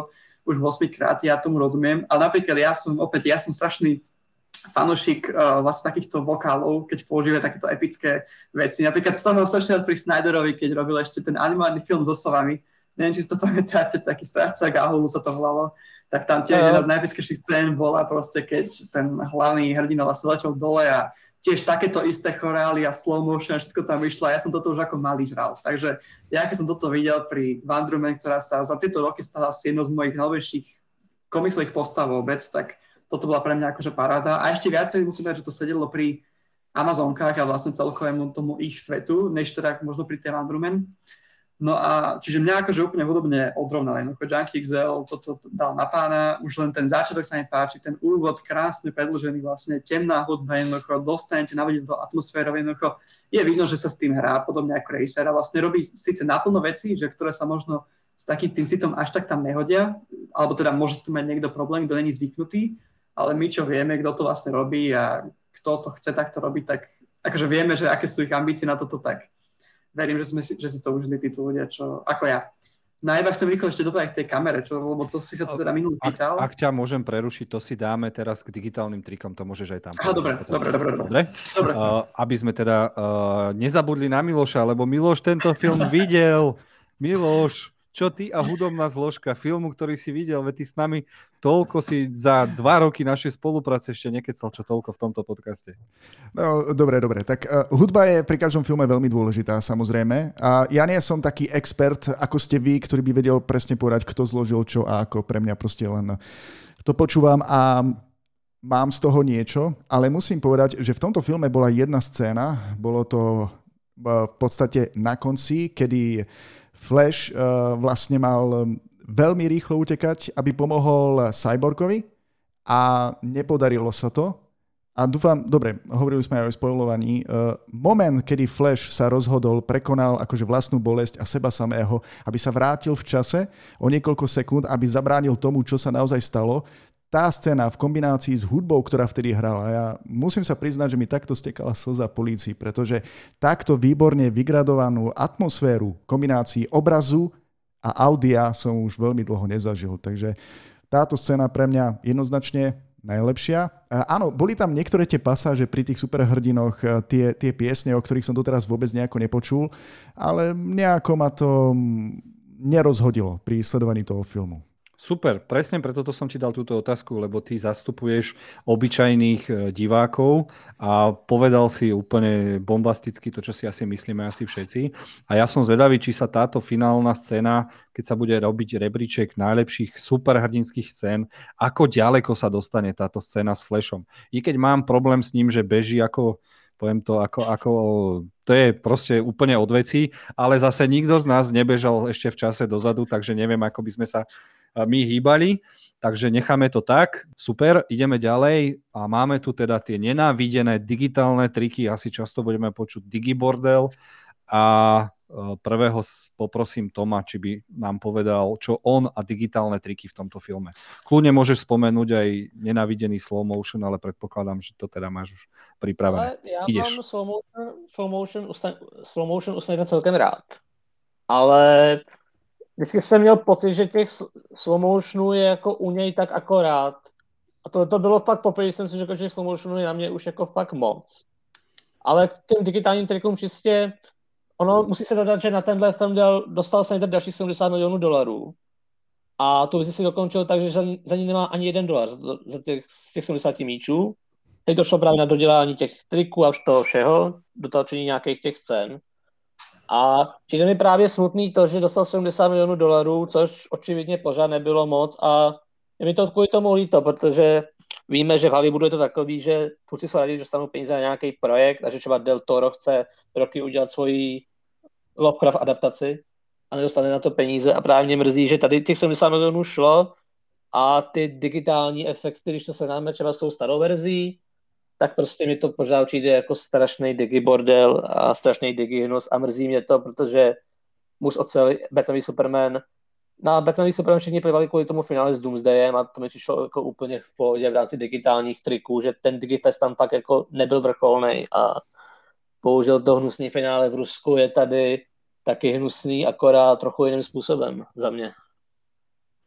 už osmikrát, ja tomu rozumiem, ale napríklad ja som, opäť, ja som strašný fanúšik uh, vlastne takýchto vokálov, keď používajú takéto epické veci. Napríklad to mám strašne pri Snyderovi, keď robil ešte ten animovaný film so sovami. Neviem, či si to pamätáte, taký Strážca Gahulu sa to volalo. Tak tam tiež jedna z najpiskejších scén bola proste, keď ten hlavný hrdina vlastne letel dole a tiež takéto isté chorály a slow motion a všetko tam vyšlo. Ja som toto už ako malý žral. Takže ja keď som toto videl pri Wonder Woman, ktorá sa za tieto roky stala asi jednou z mojich najväčších komiksových postav vôbec, tak toto bola pre mňa akože paráda. A ešte viacej musím povedať, že to sedelo pri Amazonkách a vlastne celkovému tomu ich svetu, než teda možno pri tej Wonder Woman. No a čiže mňa akože úplne hudobne odrovnal. Jednoducho Junkie X L toto dal na pána, už len ten začiatok sa mi páči, ten úvod krásne predĺžený vlastne, temná hudba jednoducho, dostanete navodiť do atmosféry, jednoducho je vidno, že sa s tým hrá, podobne ako režisér a vlastne robí síce naplno veci, že ktoré sa možno s takým tým citom až tak tam nehodia, alebo teda môže tu mať niekto problém, kto není zvyknutý, ale my čo vieme, kto to vlastne robí a kto to chce takto robiť, tak akože vieme, že aké sú ich ambície na toto, tak verím, že, sme si, že si to užili títo ľudia, čo, ako ja. No a iba chcem rýchlo ešte doplať k tej kamere, čo, lebo to si sa to teda minulý pýtal. Ak, ak ťa môžem prerušiť, to si dáme teraz k digitálnym trikom, to môžeš aj tam. Aha, dobre, dobre, dobre, dobre. dobre? dobre. Uh, aby sme teda uh, nezabudli na Miloša, lebo Miloš tento film videl. Miloš, čo ty a hudobná zložka filmu, ktorý si videl, veď ty s nami toľko si za dva roky našej spolupráce ešte nekecal, čo toľko v tomto podcaste. No, dobre, dobre. Tak uh, hudba je pri každom filme veľmi dôležitá, samozrejme. A ja nie som taký expert, ako ste vy, ktorý by vedel presne povedať, kto zložil čo a ako. Pre mňa proste len to počúvam a mám z toho niečo, ale musím povedať, že v tomto filme bola jedna scéna, bolo to v podstate na konci, kedy Flash uh, vlastne mal veľmi rýchlo utekať, aby pomohol Cyborgovi a nepodarilo sa to. A dúfam, dobre, hovorili sme aj o spoilovaní, uh, moment, kedy Flash sa rozhodol, prekonal akože vlastnú bolesť a seba samého, aby sa vrátil v čase o niekoľko sekúnd, aby zabránil tomu, čo sa naozaj stalo. Tá scéna v kombinácii s hudbou, ktorá vtedy hrala, ja musím sa priznať, že mi takto stekala slza polícii, pretože takto výborne vygradovanú atmosféru kombinácii obrazu a audia som už veľmi dlho nezažil. Takže táto scéna pre mňa jednoznačne najlepšia. Áno, boli tam niektoré tie pasáže pri tých superhrdinoch, tie, tie piesne, o ktorých som doteraz vôbec nejako nepočul, ale nejako ma to nerozhodilo pri sledovaní toho filmu. Super, presne preto som ti dal túto otázku, lebo ty zastupuješ obyčajných divákov a povedal si úplne bombasticky to, čo si asi myslíme asi všetci. A ja som zvedavý, či sa táto finálna scéna, keď sa bude robiť rebríček najlepších superhrdinských scén, ako ďaleko sa dostane táto scéna s Flashom. I keď mám problém s ním, že beží ako, poviem to, ako, ako to je proste úplne od veci, ale zase nikto z nás nebežal ešte v čase dozadu, takže neviem, ako by sme sa my hýbali, takže necháme to tak. Super, ideme ďalej a máme tu teda tie nenávidené digitálne triky, asi často budeme počuť digibordel a prvého poprosím Toma, či by nám povedal, čo on a digitálne triky v tomto filme. Kľudne môžeš spomenúť aj nenávidený slow motion, ale predpokladám, že to teda máš už pripravené. Ale ja Ideš. mám slow motion, slow motion, usne, slow motion usne celkem rád. Ale vždycky jsem měl pocit, že těch slow motionů je jako u něj tak akorát. A to, to bylo fakt poprvé, jsem si řekl, že těch slow motionů je na mě už jako fakt moc. Ale k těm digitálním trikům čistě, ono musí se dodat, že na tenhle film děl, dostal Snyder dalších sedmdesát milionů dolarů. A tu vizi si dokončil tak, že za ní nemá ani jeden dolar za těch, z těch sedmdesáti míčů. Teď došlo právě na dodělání těch triků a toho všeho, dotačení nějakých těch scén. A přijde mi právě smutný to, že dostal sedmdesát milionů dolarů, což očividně pořád nebylo moc a je mi to kvůli tomu líto, protože víme, že v Hollywoodu je to takový, že tvůrci jsou rádi, že dostanou peníze na nějaký projekt a že třeba Del Toro chce roky udělat svoji Lovecraft adaptaci a nedostane na to peníze a právě mě mrzí, že tady těch sedmdesát milionů šlo a ty digitální efekty, když to srovnáme třeba s tou starou verzí, tak prostě mi to pořád přijde jako strašný digibordel a strašný digihnus a mrzí mě to, protože muž ocel Batmanový Superman. Na Batmanový Superman všichni plivali kvůli tomu finále s Doomsdayem a to mi přišlo jako úplně v pohodě v rámci digitálních triků, že ten Digifest tam fakt jako nebyl vrcholnej a použil to hnusný finále v Rusku je tady taky hnusný, akorát trochu jiným způsobem za mě.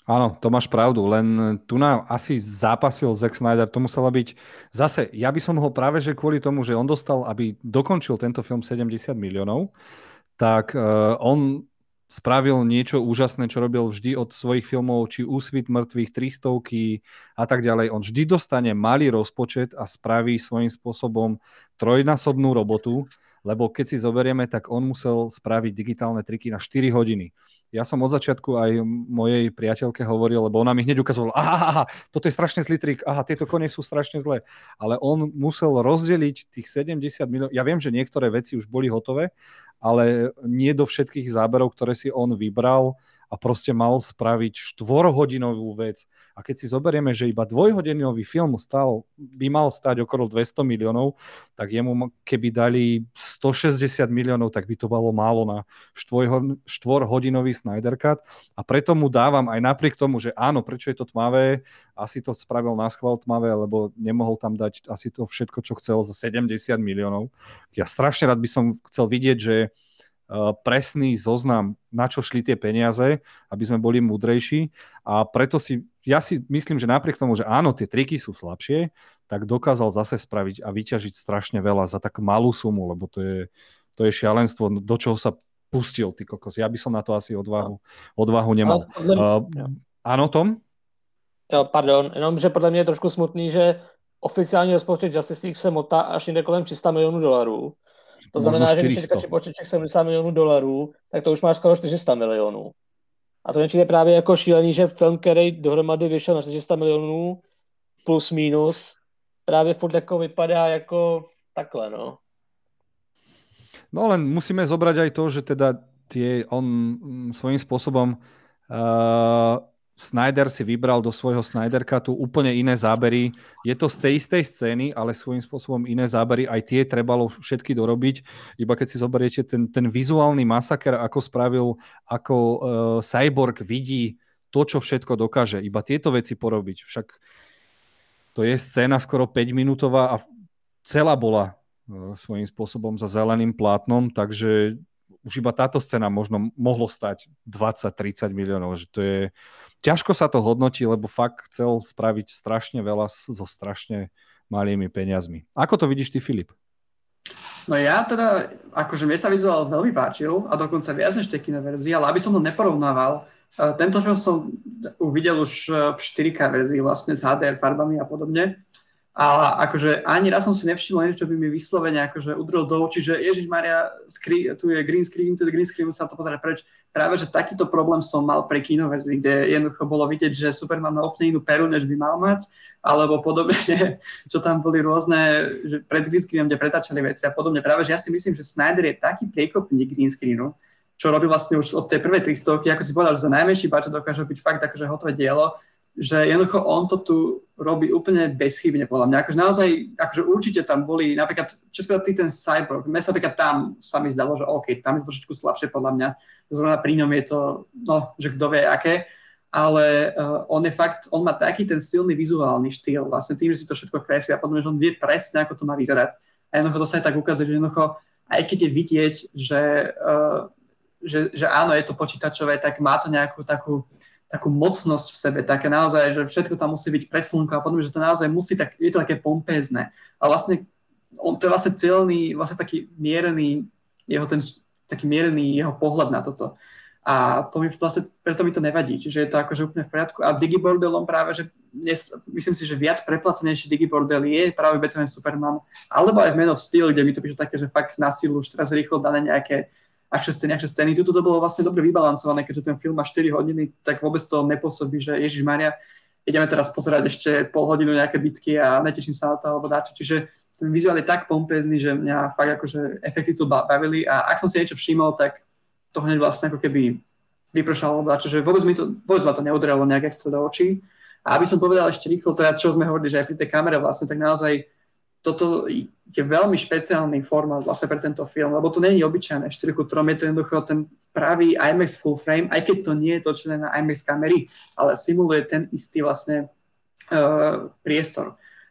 Áno, to máš pravdu, len tu nám asi zápasil Zack Snyder, to musela byť, zase, ja by som ho práve, že kvôli tomu, že on dostal, aby dokončil tento film sedemdesiat miliónov, tak uh, on spravil niečo úžasné, čo robil vždy od svojich filmov, či Úsvit mŕtvych, Tristovky a tak ďalej. On vždy dostane malý rozpočet a spraví svojím spôsobom trojnásobnú robotu, lebo keď si zoberieme, tak on musel spraviť digitálne triky na štyri hodiny. Ja som od začiatku aj mojej priateľke hovoril, lebo ona mi hneď ukazovala, aha, aha, toto je strašne zlý trik, aha, tieto kone sú strašne zlé. Ale on musel rozdeliť tých sedemdesiat miliónov. Ja viem, že niektoré veci už boli hotové, ale nie do všetkých záberov, ktoré si on vybral a proste mal spraviť štvorhodinovú vec. A keď si zoberieme, že iba dvojhodinový film stal, by mal stať okolo dvesto miliónov, tak jemu keby dali stošesťdesiat miliónov, tak by to bolo málo na štvorhodinový Snyder Cut. A preto mu dávam aj napriek tomu, že áno, prečo je to tmavé, asi to spravil na schvál tmavé, lebo nemohol tam dať asi to všetko, čo chcel za sedemdesiat miliónov. Ja strašne rád by som chcel vidieť, že presný zoznam, na čo šli tie peniaze, aby sme boli múdrejší. A preto si, ja si myslím, že napriek tomu, že áno, tie triky sú slabšie, tak dokázal zase spraviť a vyťažiť strašne veľa za tak malú sumu, lebo to je, to je šialenstvo, do čoho sa pustil, ty kokos. Ja by som na to asi odvahu, odvahu nemal. Ale, uh, áno, Tom? Jo, pardon, jenom, že podle mě je trošku smutný, že oficiální rozpočet Justice League se motá až někde kolem tři sta milionů dolarů. To znamená, že když teďka počíček sedmdesát milionů dolarů, tak to už máš skoro čtyři sta milionů. A to je právě jako šílený, že film, který dohromady vyšel na čtyři sta milionů plus minus, právě furt jako vypadá jako takhle, no. No len musíme zobrať aj to, že teda tie, on svojím spôsobom uh, Snyder si vybral do svojho Snyder Cutu úplne iné zábery. Je to z tej istej scény, ale svojím spôsobom iné zábery. Aj tie trebalo všetky dorobiť. Iba keď si zoberiete ten, ten vizuálny masaker, ako spravil, ako uh, Cyborg vidí to, čo všetko dokáže. Iba tieto veci porobiť. Však to je scéna skoro päťminútová a celá bola uh, svojím spôsobom za zeleným plátnom, takže už iba táto scéna možno mohlo stať dvadsať tridsať miliónov. Že to je... Ťažko sa to hodnotí, lebo fakt chcel spraviť strašne veľa so strašne malými peniazmi. Ako to vidíš ty, Filip? No ja teda, akože mne sa vizuál veľmi páčil a dokonca viac než tie kinoverzie, ale aby som ho neporovnával, tento film som uvidel už v štyri ká verzii vlastne s há dé er farbami a podobne. A akože ani raz som si nevšimol niečo, čo by mi vyslovene akože udrel do očí, že Ježišmaria, skri- tu je green screen, tu je green screen, musím sa to pozerať preč. Práve, že takýto problém som mal pre kinoverzii, kde jednoducho bolo vidieť, že Superman má úplne inú peru, než by mal mať, alebo podobne, čo tam boli rôzne, že pred green screenom, kde pretáčali veci a podobne. Práve, že ja si myslím, že Snyder je taký priekopník green screenu, čo robí vlastne už od tej prvej tristovky, ako si povedal, že za najmenší budget dokáže byť fakt akože hotové dielo, že jednoducho on to tu robí úplne bezchybne, podľa mňa. Akože naozaj, akože určite tam boli, napríklad, čo spôsobal ty ten Cyborg, mne sa napríklad tam sa mi zdalo, že OK, tam je to trošičku slabšie podľa mňa, zrovna pri ňom je to, no, že kto vie aké, ale uh, on je fakt, on má taký ten silný vizuálny štýl, vlastne tým, že si to všetko kreslí a potom, že on vie presne, ako to má vyzerať. A jednoducho to sa aj tak ukazuje, že jednoducho, aj keď je vidieť, že, uh, že, že áno, je to počítačové, tak má to nejakú takú takú mocnosť v sebe, také naozaj, že všetko tam musí byť pre slnko a potom, že to naozaj musí, tak, je to také pompézne. A vlastne, on, to je vlastne cieľný, vlastne taký mierený, jeho ten, taký mierený jeho pohľad na toto. A to mi vlastne, preto mi to nevadí, čiže je to akože úplne v poriadku. A Digibordelom práve, že dnes, myslím si, že viac preplacenejší Digibordel je práve Batman Superman, alebo aj v Man of Steel, kde mi to píšu také, že fakt na silu už teraz rýchlo dané nejaké akšie scény, akšie scény. Tuto to bolo vlastne dobre vybalancované, keďže ten film má štyri hodiny, tak vôbec to nepôsobí, že Ježišmaria, ideme teraz pozerať ešte pol hodinu nejaké bitky a neteším sa na to, alebo dáčo. Čiže ten vizuál je tak pompézny, že mňa fakt akože efekty tu bavili a ak som si niečo všimol, tak to hneď vlastne ako keby vypršalo, dáčo, že vôbec, mi to, vôbec ma to neudrelo nejak extra do očí. A aby som povedal ešte rýchlo, teda čo sme hovorili, že aj pri tej kamere vlastne, tak naozaj toto je veľmi špeciálny formát vlastne pre tento film, lebo to nie je obyčajné štyri ku tri, je to jednoducho ten pravý IMAX full frame, aj keď to nie je točené na IMAX kamery, ale simuluje ten istý vlastne uh, priestor.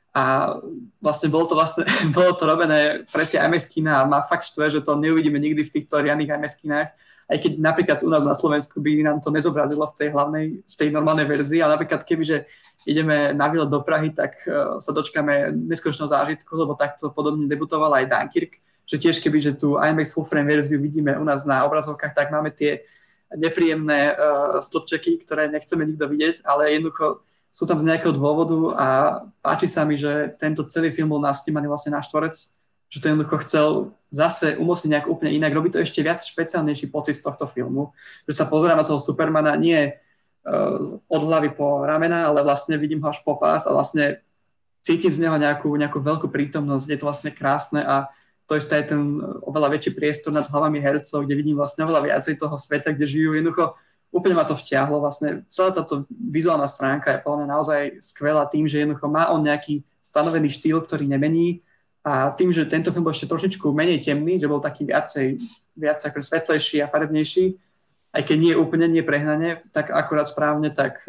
A vlastne bolo to vlastne, bolo to robené pre tie IMAX kina a má fakt štve, že to neuvidíme nikdy v týchto riadnych IMAX kinách, aj keď napríklad u nás na Slovensku by nám to nezobrazilo v tej hlavnej, v tej normálnej verzii, ale napríklad kebyže ideme na výlet do Prahy, tak uh, sa dočkáme neskutočného zážitku, lebo takto podobne debutoval aj Dunkirk, že tiež kebyže tú IMAX full frame verziu vidíme u nás na obrazovkách, tak máme tie nepríjemné uh, stĺpčeky, ktoré nechceme nikto vidieť, ale jednoducho sú tam z nejakého dôvodu a páči sa mi, že tento celý film bol nasnímaný vlastne na štvorec, že to jednoducho chcel zase umocniť nejak úplne inak. Robí to ešte viac špeciálnejší pocit z tohto filmu, že sa pozerám na toho Supermana nie uh, od hlavy po ramena, ale vlastne vidím ho až po pás a vlastne cítim z neho nejakú, nejakú veľkú prítomnosť, je to vlastne krásne a to isté je ten oveľa väčší priestor nad hlavami hercov, kde vidím vlastne oveľa viacej toho sveta, kde žijú. Jednoducho úplne ma to vtiahlo. Vlastne celá táto vizuálna stránka je podľa mňa naozaj skvelá tým, že jednoducho má on nejaký stanovený štýl, ktorý nemení a tým, že tento film bol ešte trošičku menej temný, že bol taký viacej, viac ako svetlejší a farebnejší, aj keď nie úplne, nie prehnane, tak akurát správne, tak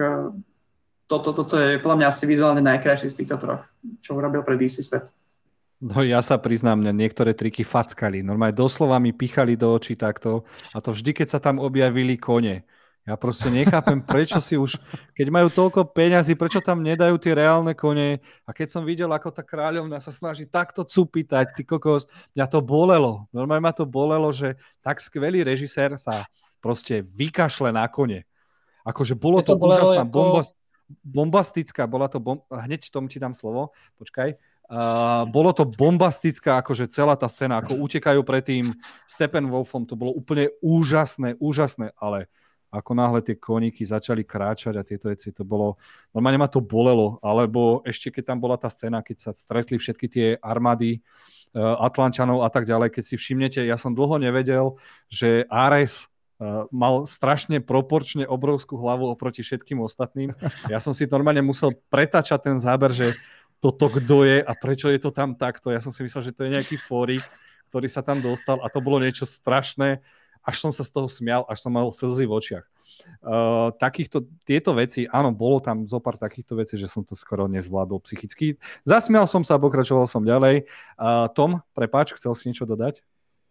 toto, toto je podľa mňa asi vizuálne najkrajší z týchto troch, čo urobil pre dé cé svet. No ja sa priznám, mňa niektoré triky fackali. Normálne doslova mi pichali do očí takto a to vždy, keď sa tam objavili kone. Ja proste nechápem, prečo si už, keď majú toľko peňazí, prečo tam nedajú tie reálne kone. A keď som videl, ako tá kráľovna sa snaží takto cupitať, ty kokos, mňa to bolelo. Normálne ma to bolelo, že tak skvelý režisér sa proste vykašle na kone. Akože bolo to, to úžasná, ako... bombast, bombastická, bola to, bom... hneď tomu ti dám slovo, počkaj. Uh, bolo to bombastická, akože celá tá scéna, ako utekajú pred tým Steppenwolfom, to bolo úplne úžasné, úžasné, ale ako náhle tie koníky začali kráčať a tieto veci, to bolo, normálne ma to bolelo, alebo ešte keď tam bola tá scéna, keď sa stretli všetky tie armády uh, Atlančanov a tak ďalej, keď si všimnete, ja som dlho nevedel, že Ares uh, mal strašne proporčne obrovskú hlavu oproti všetkým ostatným. Ja som si normálne musel pretačať ten záber, že toto kto je a prečo je to tam takto. Ja som si myslel, že to je nejaký fórik, ktorý sa tam dostal a to bolo niečo strašné. Až som sa z toho smial, až som mal slzy v očiach. Uh, takýchto, tieto veci, áno, bolo tam zo pár takýchto vecí, že som to skoro nezvládol psychicky. Zasmial som sa a pokračoval som ďalej. Uh, Tom, prepáč, chcel si niečo dodať?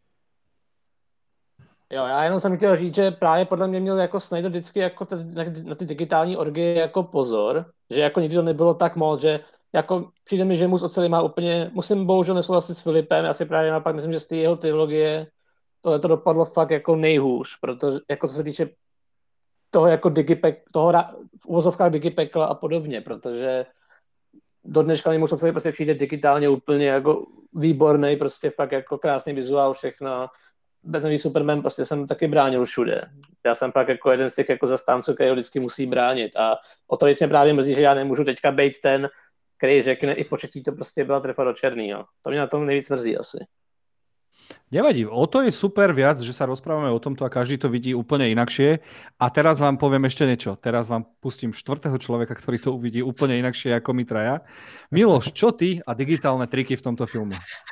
Jo, já jenom jsem chtěl říct, že právě podle mě měl jako Snyder vždycky jako t- na, na ty digitální orgie jako pozor, že jako nikdy to nebylo tak moc, že jako přijde mi, že Mus oceli má úplně, musím bohužel nesouhlasit s Filipem, asi právě naopak myslím, že z té jeho trilogie tohle to dopadlo fakt jako nejhůř, protože jako co se týče toho jako digipek, toho v uvozovkách digipekla a podobně, protože do dneška mi Mus oceli prostě přijde digitálně úplně jako výborný, prostě fakt jako krásný vizuál, všechno. Batmanový Superman prostě jsem taky bránil všude. Já jsem pak jako jeden z těch jako zastánců, který ho vždycky musí bránit a o to mě právě mrzí, že já nemůžu teďka být ten, který řekne i početí to prostě byla trefa do černýho. To mě na tom nejvíc mrzí asi. Nevadí, o to je super viac, že sa rozprávame o tomto a každý to vidí úplne inakšie. A teraz vám poviem ešte niečo. Teraz vám pustím štvrtého človeka, ktorý to uvidí úplne inakšie ako my traja. Miloš, čo ty a digitálne triky v tomto filme?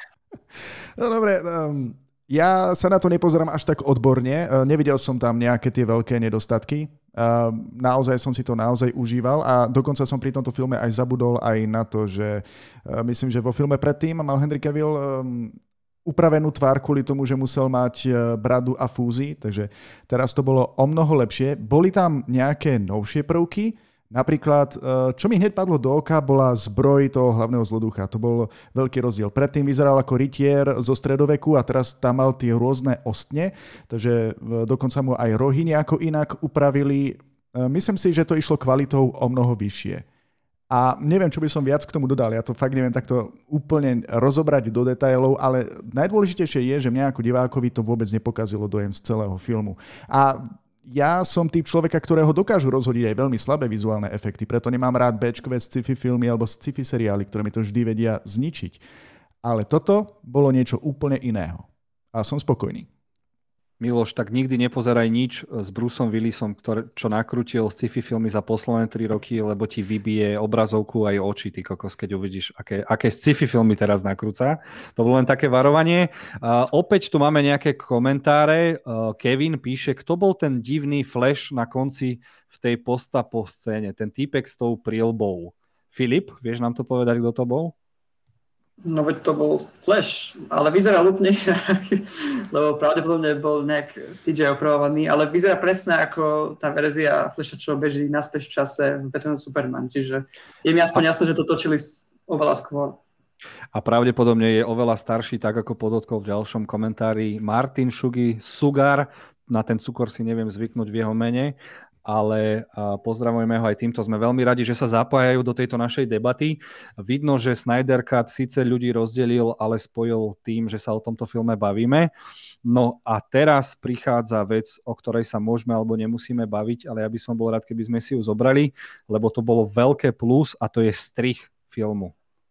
No dobre, um, ja sa na to nepozerám až tak odborne. Uh, nevidel som tam nejaké tie veľké nedostatky. Uh, naozaj som si to naozaj užíval a dokonca som pri tomto filme aj zabudol aj na to, že uh, myslím, že vo filme predtým mal Henry Cavill um, upravenú tvár kvôli tomu, že musel mať bradu a fúzy, takže teraz to bolo o mnoho lepšie. Boli tam nejaké novšie prvky, napríklad, čo mi hneď padlo do oka, bola zbroj toho hlavného zloducha. To bol veľký rozdiel. Predtým vyzeral ako rytier zo stredoveku a teraz tam mal tie rôzne ostne, takže dokonca mu aj rohy nejako inak upravili. Myslím si, že to išlo kvalitou o mnoho vyššie. A neviem, čo by som viac k tomu dodal. Ja to fakt neviem takto úplne rozobrať do detailov, ale najdôležitejšie je, že mňa ako divákovi to vôbec nepokazilo dojem z celého filmu. A ja som typ človeka, ktorého dokážu rozhodiť aj veľmi slabé vizuálne efekty, preto nemám rád béčkové sci-fi filmy alebo sci-fi seriály, ktoré mi to vždy vedia zničiť. Ale toto bolo niečo úplne iného. A som spokojný. Miloš, tak nikdy nepozeraj nič s Bruceom Willisom, ktoré, čo nakrútil sci-fi filmy za posledné tri roky, lebo ti vybije obrazovku aj oči, ty kokos, keď uvidíš, aké, aké sci-fi filmy teraz nakrúca. To bolo len také varovanie. Uh, opäť tu máme nejaké komentáre. Uh, Kevin píše, kto bol ten divný Flash na konci v tej postapo scéne, ten týpek s tou prílbou. Filip, vieš nám to povedať, kto to bol? No veď to bol Flash, ale vyzeral úplne inak, lebo pravdepodobne bol nejak C J opravovaný, ale vyzerá presne ako tá verzia Flasha, čo beží naspäť v čase v Batman Superman, čiže je mi aspoň jasné, že to točili oveľa skôr. A pravdepodobne je oveľa starší, tak ako podotkol v ďalšom komentári Martin Šugi Sugar, na ten cukor si neviem zvyknúť v jeho mene, ale pozdravujeme ho aj týmto. Sme veľmi radi, že sa zapájajú do tejto našej debaty. Vidno, že Snyder Cut síce ľudí rozdelil, ale spojil tým, že sa o tomto filme bavíme. No a teraz prichádza vec, o ktorej sa môžeme alebo nemusíme baviť, ale ja by som bol rád, keby sme si ju zobrali, lebo to bolo veľké plus a to je strih filmu.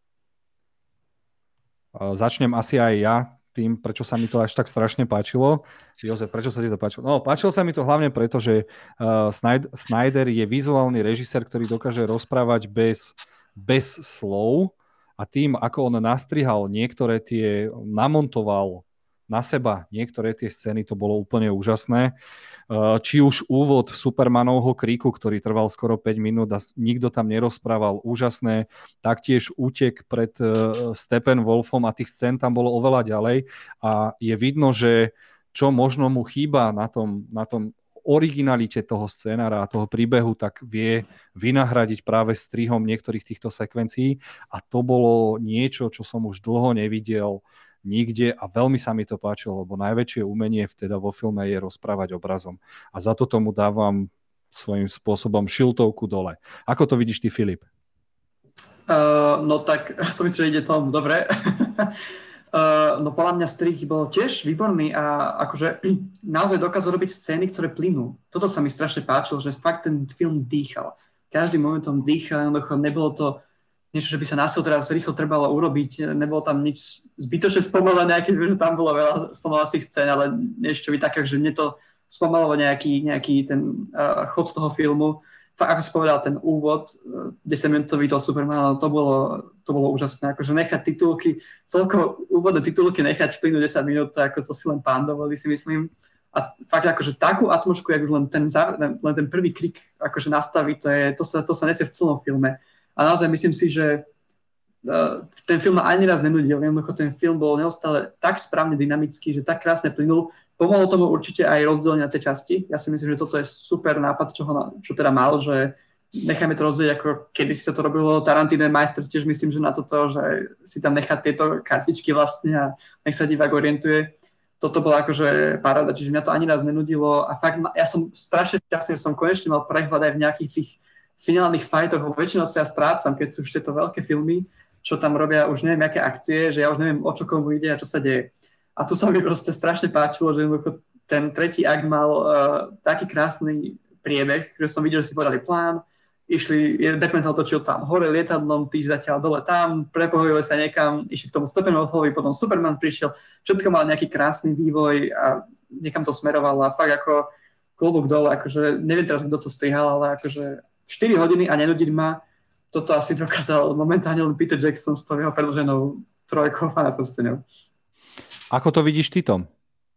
Začnem asi aj ja tým, prečo sa mi to až tak strašne páčilo. Jozef, prečo sa ti to páčilo? No, páčilo sa mi to hlavne preto, že uh, Snyder je vizuálny režisér, ktorý dokáže rozprávať bez, bez slov a tým, ako on nastrihal niektoré tie, namontoval na seba niektoré tie scény, to bolo úplne úžasné. Či už úvod Supermanovho kríku, ktorý trval skoro päť minút a nikto tam nerozprával, úžasné. Taktiež útek pred Steppenwolfom a tých scén tam bolo oveľa ďalej a je vidno, že čo možno mu chýba na tom, na tom originalite toho scénára a toho príbehu, tak vie vynahradiť práve strihom niektorých týchto sekvencií a to bolo niečo, čo som už dlho nevidel nikde a veľmi sa mi to páčilo, lebo najväčšie umenie teda vo filme je rozprávať obrazom. A za to tomu dávam svojím spôsobom šiltovku dole. Ako to vidíš ty, Filip? Uh, no tak som myslel, že ide tomu dobre. uh, no podľa mňa strih bol tiež výborný a akože naozaj dokázal robiť scény, ktoré plynú. Toto sa mi strašne páčilo, že fakt ten film dýchal. Každým momentom dýchal, nebolo to niečo, že by sa násil teraz rýchlo trebalo urobiť, nebolo tam nič zbytočne spomalené, keďže tam bolo veľa spomalacích scén, ale niečo by také, že mne to spomalovalo nejaký, nejaký ten uh, chod toho filmu. Fakt, ako si povedal, ten úvod, uh, desaťminútový toho Supermana, to bolo, to bolo úžasné. Akože nechať titulky, celkovo úvodné titulky nechať plynúť desať minút, ako to si len pán dovolí, si myslím. A fakt akože takú atmosféru, ako len ten, len ten prvý krik akože nastaví, to, je, to, sa, to sa nesie v celom filme. A naozaj myslím si, že uh, ten film ma ani raz nenudil. Jednoducho ten film bol neustále tak správne dynamický, že tak krásne plynul. Pomohlo tomu určite aj rozdelenie na tie časti. Ja si myslím, že toto je super nápad, čo, ho, čo teda mal, že nechajme to rozdeliť, ako kedysi sa to robilo. Tarantino majster tiež myslím, že na toto, že si tam nechá tieto kartičky vlastne a nech sa divák orientuje. Toto bola akože paráda, čiže mňa to ani raz nenudilo. A fakt, ja som strašne šťastný, že som konečne mal prehľad aj v nejakých tých finálnych fightoch, lebo väčšinou sa ja strácam, keď sú už tieto veľké filmy, čo tam robia už neviem, aké akcie, že ja už neviem, o čo komu ide a čo sa deje. A tu sa mi proste strašne páčilo, že ten tretí akt mal uh, taký krásny priebeh, že som videl, že si podali plán, išli, Batman sa otočil tam hore lietadlom, týž zatiaľ dole tam, prepohojili sa niekam, išli k tomu Steppenwolfovi, potom Superman prišiel, všetko mal nejaký krásny vývoj a niekam to smerovalo a fakt ako klobúk dole, akože neviem teraz, kto to strihal, ale akože štyri hodiny a nenudiť ma, toto asi dokázal momentálne len Peter Jackson s tou jeho predĺženou trojkou a naprosteňou. Ako to vidíš ty, Tom?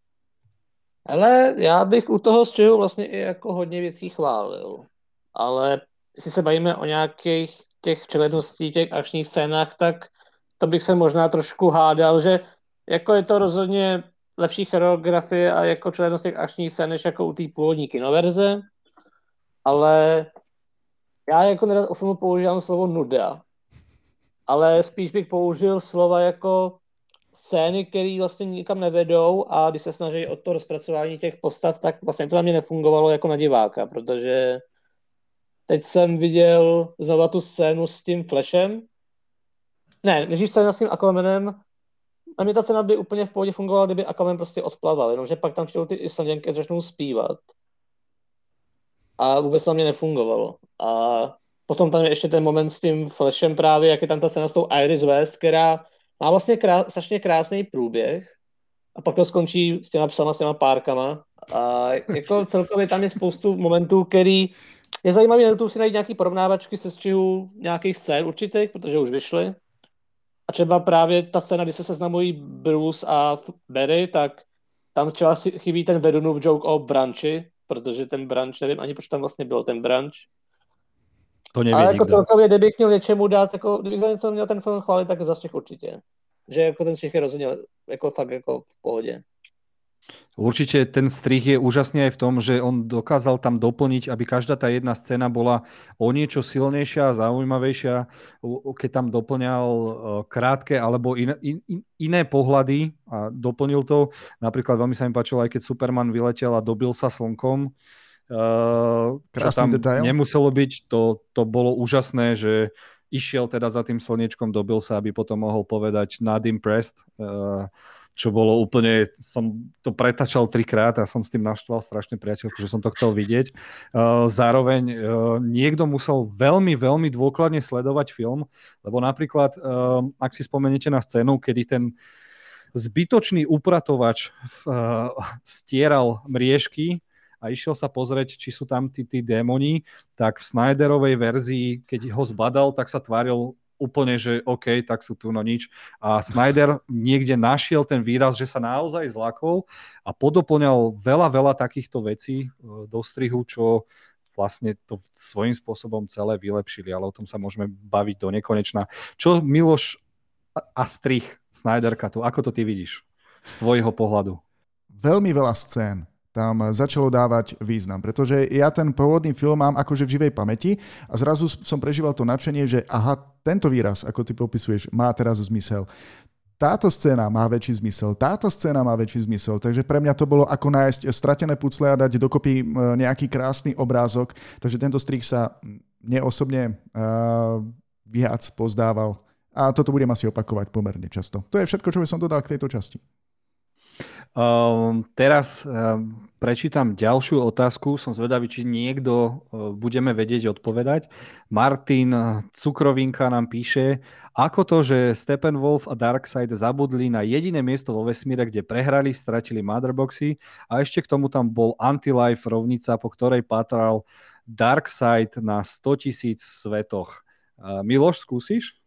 Ale já bych u toho střihu vlastně i jako hodně věcí chválil. Ale jestli se bavíme o nějakých těch převedností, těch akčních scénách, tak to bych se možná trošku hádal, že jako je to rozhodně lepší choreografie a jako převednost těch akčních scén, než jako u té původní kinoverze. Ale já jako nerad o filmu používám slovo nuda, ale spíš bych použil slova jako scény, které vlastně nikam nevedou a když se snaží o to rozpracování těch postav, tak vlastně to na mě nefungovalo jako na diváka, protože teď jsem viděl znova tu scénu s tím Flashem. Ne, než scéna s tím Aquamanem, a mě ta scéna by úplně v pohodě fungovala, kdyby Aquaman prostě odplaval, jenomže pak tam přijdou ty Islanděnky a začnou zpívat. A vůbec na mě nefungovalo. A potom tam je ještě ten moment s tím Flashem právě, jak je tam ta scéna s tou Iris West, která má vlastně krá, strašně krásný průběh a pak to skončí s těma psama, s těma párkama. A jako celkově tam je spoustu momentů, který je zajímavý na YouTube si najít nějaký porovnávačky se střihu nějakých scén určitých, protože už vyšly. A třeba právě ta scéna, kdy se seznamují Bruce a Barry, tak tam třeba chybí ten Vedunův joke o branči, protože ten branč, nevím ani proč tam vlastně bylo ten branč. To nevie Ale jako nikto. celkově, kdybych měl něčemu dát, jako, kdybych za něco měl ten film chválit, tak za Střih určitě. Že jako ten Střih je rozhodně jako fakt jako v pohodě. Určite ten strih je úžasný aj v tom, že on dokázal tam doplniť, aby každá tá jedna scéna bola o niečo silnejšia a zaujímavejšia, keď tam doplňal krátke alebo iné, in, iné pohľady a doplnil to. Napríklad veľmi sa mi páčilo, aj keď Superman vyletel a dobil sa slnkom, čo tam detail. Nemuselo byť, to, to bolo úžasné, že išiel teda za tým slniečkom, dobil sa, aby potom mohol povedať not impressed, čo bolo úplne, som to pretačal trikrát a som s tým naštval strašne priateľku, že som to chcel vidieť. Zároveň niekto musel veľmi, veľmi dôkladne sledovať film, lebo napríklad, ak si spomeniete na scénu, kedy ten zbytočný upratovač stieral mriežky a išiel sa pozrieť, či sú tam tí, tí démoni, tak v Snyderovej verzii, keď ho zbadal, tak sa tváril úplne, že OK, tak sú tu no nič. A Snyder niekde našiel ten výraz, že sa naozaj zlakol a podoplňal veľa, veľa takýchto vecí do strihu, čo vlastne to svojím spôsobom celé vylepšili, ale o tom sa môžeme baviť do nekonečna. Čo Miloš a strih Snyderka tu, ako to ty vidíš z tvojho pohľadu? Veľmi veľa scén tam začalo dávať význam, pretože ja ten pôvodný film mám akože v živej pamäti a zrazu som prežíval to nadšenie, že aha, tento výraz, ako ty popisuješ, má teraz zmysel. Táto scéna má väčší zmysel, táto scéna má väčší zmysel, takže pre mňa to bolo ako nájsť stratené pucle a dať dokopy nejaký krásny obrázok, takže tento strih sa mne osobne uh, viac pozdával a toto budem asi opakovať pomerne často. To je všetko, čo by som dodal k tejto časti. Um, teraz um, prečítam ďalšiu otázku. Som zvedavý, či niekto uh, budeme vedieť odpovedať. Martin Cukrovinka nám píše, ako to, že Steppenwolf a Darkseid zabudli na jediné miesto vo vesmíre, kde prehrali, stratili Motherboxy a ešte k tomu tam bol Anti-Life rovnica, po ktorej pátral Darkseid na stotisíc svetoch. Uh, Miloš, skúsiš?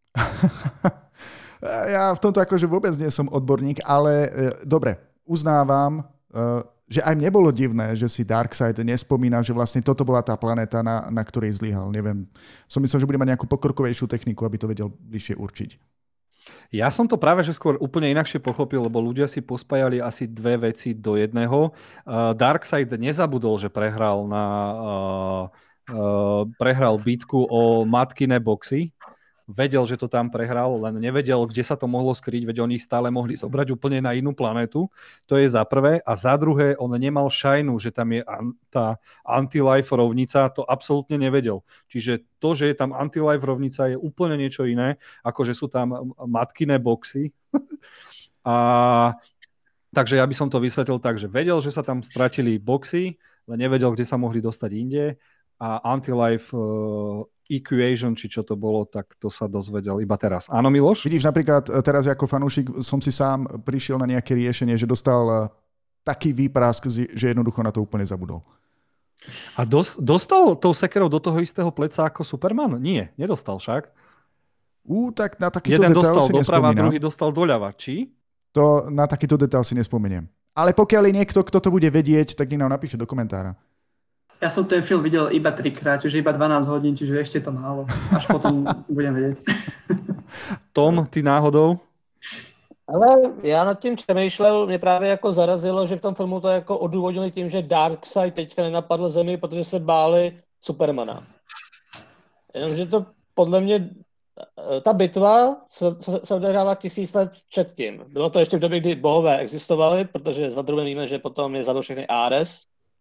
Ja v tomto akože vôbec nie som odborník, ale e, dobre, uznávam, e, že aj mne bolo divné, že si Darkseid nespomína, že vlastne toto bola tá planéta, na, na ktorej zlyhal. Neviem, som myslel, že bude mať nejakú pokrkovejšiu techniku, aby to vedel bližšie určiť. Ja som to práve že skôr úplne inakšie pochopil, lebo ľudia si pospájali asi dve veci do jedného. Uh, Darkseid nezabudol, že prehral na uh, uh, prehral bitku o matkine boxy. Vedel, že to tam prehral, len nevedel, kde sa to mohlo skryť, veď oni stále mohli zobrať úplne na inú planetu. To je za prvé. A za druhé, on nemal šajnu, že tam je an- tá anti-life rovnica, to absolútne nevedel. Čiže to, že je tam anti-life rovnica, je úplne niečo iné, ako že sú tam matkiné boxy. A takže ja by som to vysvetlil tak, že vedel, že sa tam stratili boxy, len nevedel, kde sa mohli dostať inde. A anti-life uh, equation, či čo to bolo, tak to sa dozvedel iba teraz. Áno, Miloš? Vidíš, napríklad teraz ako fanúšik som si sám prišiel na nejaké riešenie, že dostal taký výprask, že jednoducho na to úplne zabudol. A dos- dostal tou sekerou do toho istého pleca ako Superman? Nie, nedostal však. Ú, tak na takýto Jeden detail dostal si doprava, nespomínam. druhý dostal doľava. Či? To na takýto detail si nespomeniem. Ale pokiaľ je niekto, kto to bude vedieť, tak nech nám napíše do komentára. Ja som ten film videl iba trikrát, čiže iba dvanásť hodín, čiže ešte to málo. Až potom budem vedieť. Tom, ty náhodou? Ale já nad tím přemýšlel, mě právě jako zarazilo, že v tom filmu to jako odůvodnili tím, že Darkseid teďka nenapadl Zemi, protože se báli Supermana. Jenomže to podle mě, ta bitva se, se, se odehrává tisíc let předtím. Bylo to ještě v době, kdy bohové existovali, protože s Wonder víme, že potom je zabil všechny Ares.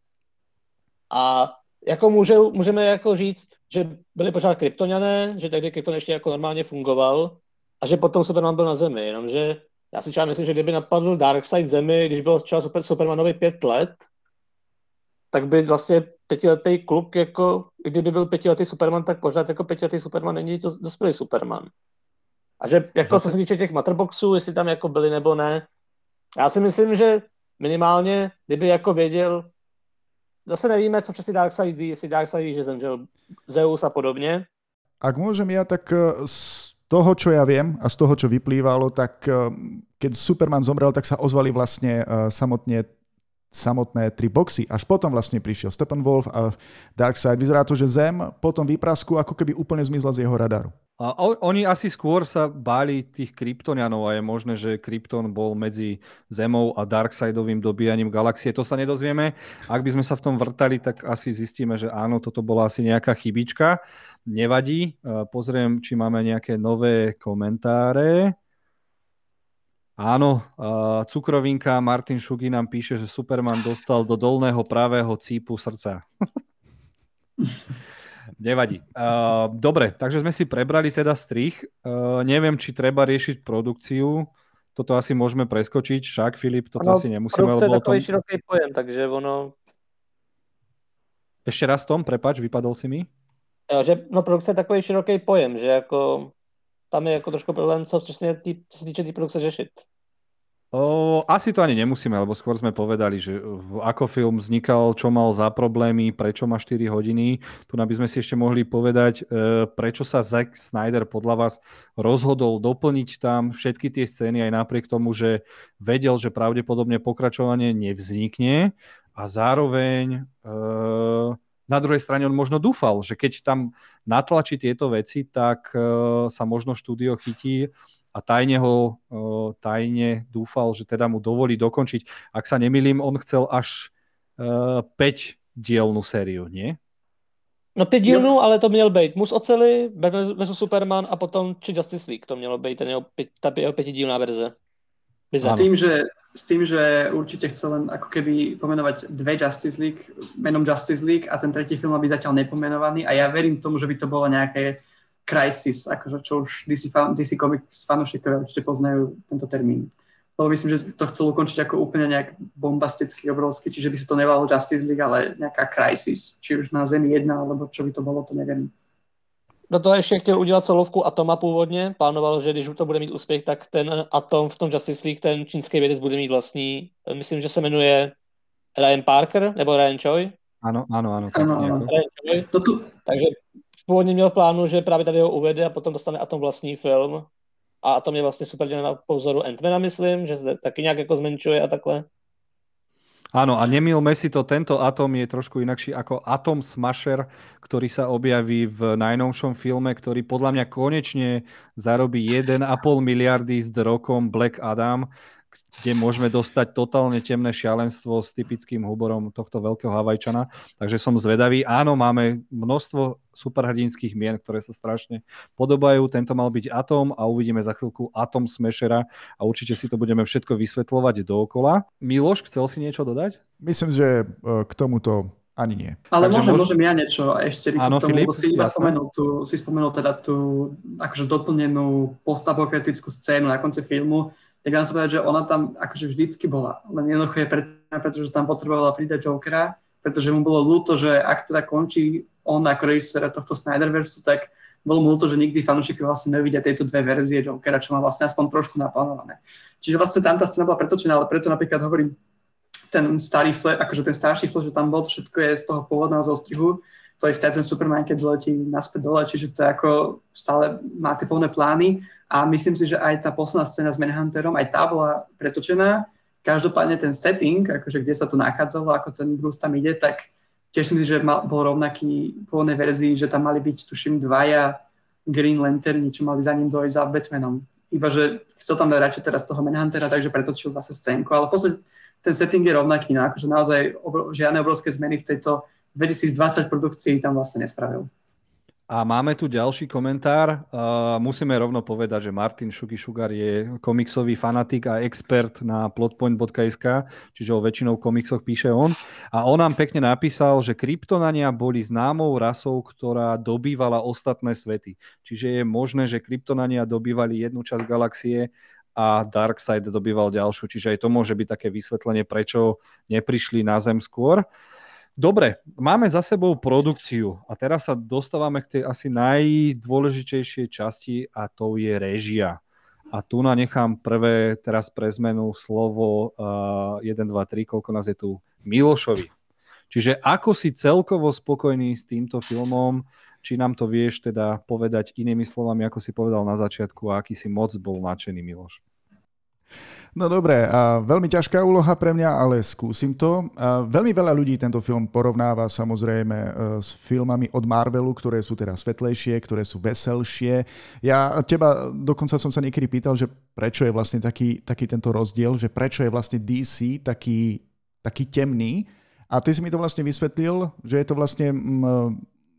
A jako může, můžeme jako říct, že byli pořád kryptoniané, že tehdy krypton ještě jako normálně fungoval a že potom Superman byl na Zemi, jenomže já si třeba myslím, že kdyby napadl Darkseid Zemi, když byl třeba Super, Supermanovi pět let, tak by vlastně pětiletý kluk, jako kdyby byl pětiletý Superman, tak pořád jako pětiletý Superman není to dospělý Superman. A že jako Zase... co se týče těch Matterboxů, jestli tam jako byli nebo ne, já si myslím, že minimálně, kdyby jako věděl, zase nevíme, co přesně Darkseid ví, jestli Darkseid ví, že zemřel Zeus a podobně. Ak môžem ja, tak z toho, čo ja viem a z toho, čo vyplývalo, tak keď Superman zomrel, tak sa ozvali vlastne samotne samotné tri boxy. Až potom vlastne prišiel Steppenwolf a Darkseid. Vyzerá to, že Zem potom výprasku ako keby úplne zmizla z jeho radaru. A oni asi skôr sa báli tých Kryptonianov a je možné, že Krypton bol medzi Zemou a Darkseidovým dobíjaním galaxie. To sa nedozvieme. Ak by sme sa v tom vrtali, tak asi zistíme, že áno, toto bola asi nejaká chybička. Nevadí. Pozriem, či máme nejaké nové komentáre. Áno, uh, cukrovinka Martin Šugy nám píše, že Superman dostal do dolného pravého cípu srdca. Nevadí. Uh, dobre, takže sme si prebrali teda strich. Uh, neviem, či treba riešiť produkciu. Toto asi môžeme preskočiť. Však, Filip, toto ano, asi nemusíme. Produkce je takový tom... široký pojem, takže ono... Ešte raz, Tom, prepáč, vypadol si mi. Jo, že, no, produkce je takový široký pojem, že jako... Tam je jako trošku problém, co přesně tý, se týče té tý produkce řešit. O, asi to ani nemusíme, lebo skôr sme povedali, že ako film vznikal, čo mal za problémy, prečo má štyri hodiny. Tu by sme si ešte mohli povedať, prečo sa Zack Snyder podľa vás rozhodol doplniť tam všetky tie scény aj napriek tomu, že vedel, že pravdepodobne pokračovanie nevznikne a zároveň... E- Na druhej strane on možno dúfal, že keď tam natlačí tieto veci, tak uh, sa možno štúdio chytí a tajne ho uh, tajne dúfal, že teda mu dovolí dokončiť. Ak sa nemýlim, on chcel až uh, päť dielnú sériu, nie? No pět dílnů, ale to měl být Mus oceli, versus Superman a potom či Justice League. To mělo být ten jeho, pět, ta jeho pětidílná verze. S tým, že, s tým, že určite chcel len ako keby pomenovať dve Justice League, menom Justice League a ten tretí film má byť zatiaľ nepomenovaný a ja verím tomu, že by to bolo nejaké Crisis, akože čo už dé cé, fan, dé cé Comics fanúšikovia určite poznajú tento termín. Lebo myslím, že to chcel ukončiť ako úplne nejak bombastický, obrovský, čiže by sa to nevolalo Justice League, ale nejaká Crisis, či už na Zemi jedna, alebo čo by to bolo, to neviem. Do toho ještě chtěl udělat solovku Atoma původně. Plánoval, že když to bude mít úspěch, tak ten Atom v tom Justice League, ten čínský vědec bude mít vlastní, myslím, že se jmenuje Ryan Parker, nebo Ryan Choi. Ano, ano, ano. ano, ano. Ryan Choi. No tu... Takže původně měl v plánu, že právě tady ho uvede a potom dostane Atom vlastní film. A Atom je vlastně super na pozoru Ant-Mana, myslím, že se taky nějak jako zmenšuje a takhle. Áno, a nemýlme si to, tento Atom je trošku inakší ako Atom Smasher, ktorý sa objaví v najnovšom filme, ktorý podľa mňa konečne zarobí jeden a pol miliardy s rokom Black Adam, kde môžeme dostať totálne temné šialenstvo s typickým humorom tohto veľkého Havajčana. Takže som zvedavý. Áno, máme množstvo superhrdinských mien, ktoré sa strašne podobajú. Tento mal byť Atom a uvidíme za chvíľku Atom Smashera a určite si to budeme všetko vysvetľovať dookola. Miloš, chcel si niečo dodať? Myslím, že k tomuto ani nie. Ale Takže môžem, môž... môžem ja niečo ešte Áno, k tomu, Filip, lebo si iba jasné. spomenul, tú, si spomenul teda tú akože doplnenú postapokritickú scénu na konci filmu. Tak vám sa povedať, že ona tam akože vždycky bola. Len jednoducho je preto, pretože tam potrebovala pridať Jokera, pretože mu bolo ľúto, že ak teda končí on ako režisér tohto Snyderversu, tak bolo mu ľúto, že nikdy fanúšikovia vlastne nevidia tieto dve verzie Jokera, čo má vlastne aspoň trošku naplánované. Čiže vlastne tam tá scéna bola pretočená, ale preto napríklad hovorím, ten starý flash, akože ten starší flash, že tam bol, to všetko je z toho pôvodného zostrihu, to isté aj ten Superman, keď letí naspäť dole, čiže to je ako stále má tie pôvodné plány. A myslím si, že aj tá posledná scéna s Manhunterom, aj tá bola pretočená. Každopádne ten setting, akože kde sa to nachádzalo, ako ten Bruce tam ide, tak tiež si myslím, že mal, bol rovnaký v pôvodnej verzii, že tam mali byť, tuším, dvaja Green Lanterni, čo mali za ním dojsť za Batmanom. Iba, že chcel tam dať radšej teraz toho Manhuntera, takže pretočil zase scénku. Ale v podstate ten setting je rovnaký, no, akože naozaj obro, žiadne obrovské zmeny v tejto dvetisícdvadsať produkcii tam vlastne nespravil. A máme tu ďalší komentár. Uh, musíme rovno povedať, že Martin Šuky Šugar je komiksový fanatik a expert na plotpoint bodka es ká, čiže o väčšinou komiksoch píše on. A on nám pekne napísal, že Kryptonania boli známou rasou, ktorá dobývala ostatné svety. Čiže je možné, že Kryptonania dobývali jednu časť galaxie a Darkseid dobýval ďalšiu. Čiže aj to môže byť také vysvetlenie, prečo neprišli na Zem skôr. Dobre, máme za sebou produkciu a teraz sa dostávame k tej asi najdôležitejšej časti a to je réžia. A tu na nechám prvé teraz pre zmenu slovo uh, jeden, dva, tri, koľko nás je tu, Milošovi. Čiže ako si celkovo spokojný s týmto filmom, či nám to vieš teda povedať inými slovami, ako si povedal na začiatku a aký si moc bol nadšený, Miloš? No dobre, a veľmi ťažká úloha pre mňa, ale skúsim to. A veľmi veľa ľudí tento film porovnáva samozrejme e, s filmami od Marvelu, ktoré sú teda svetlejšie, ktoré sú veselšie. Ja teba dokonca som sa niekedy pýtal, že prečo je vlastne taký, taký tento rozdiel, že prečo je vlastne dé cé taký, taký temný. A ty si mi to vlastne vysvetlil, že je to vlastne mm,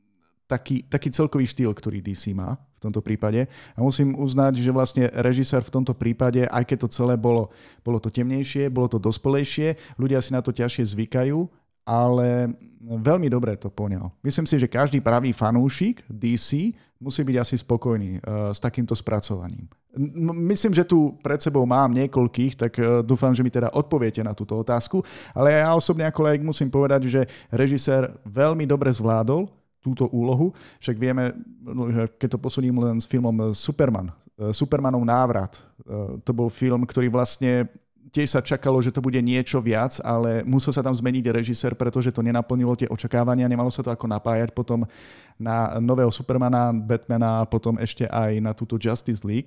taký, taký celkový štýl, ktorý dé cé má v tomto prípade. A musím uznať, že vlastne režisér v tomto prípade, aj keď to celé bolo, bolo to temnejšie, bolo to dospelejšie, ľudia si na to ťažšie zvykajú, ale veľmi dobre to poňal. Myslím si, že každý pravý fanúšik dé cé musí byť asi spokojný uh, s takýmto spracovaním. Myslím, že tu pred sebou mám niekoľkých, tak uh, dúfam, že mi teda odpoviete na túto otázku, ale ja osobne ako laik musím povedať, že režisér veľmi dobre zvládol túto úlohu. Však vieme, že keď to posúdim len s filmom Superman, Supermanov návrat, to bol film, ktorý vlastne tiež sa čakalo, že to bude niečo viac, ale musel sa tam zmeniť režisér, pretože to nenaplnilo tie očakávania, nemalo sa to ako napájať potom na nového Supermana, Batmana a potom ešte aj na túto Justice League.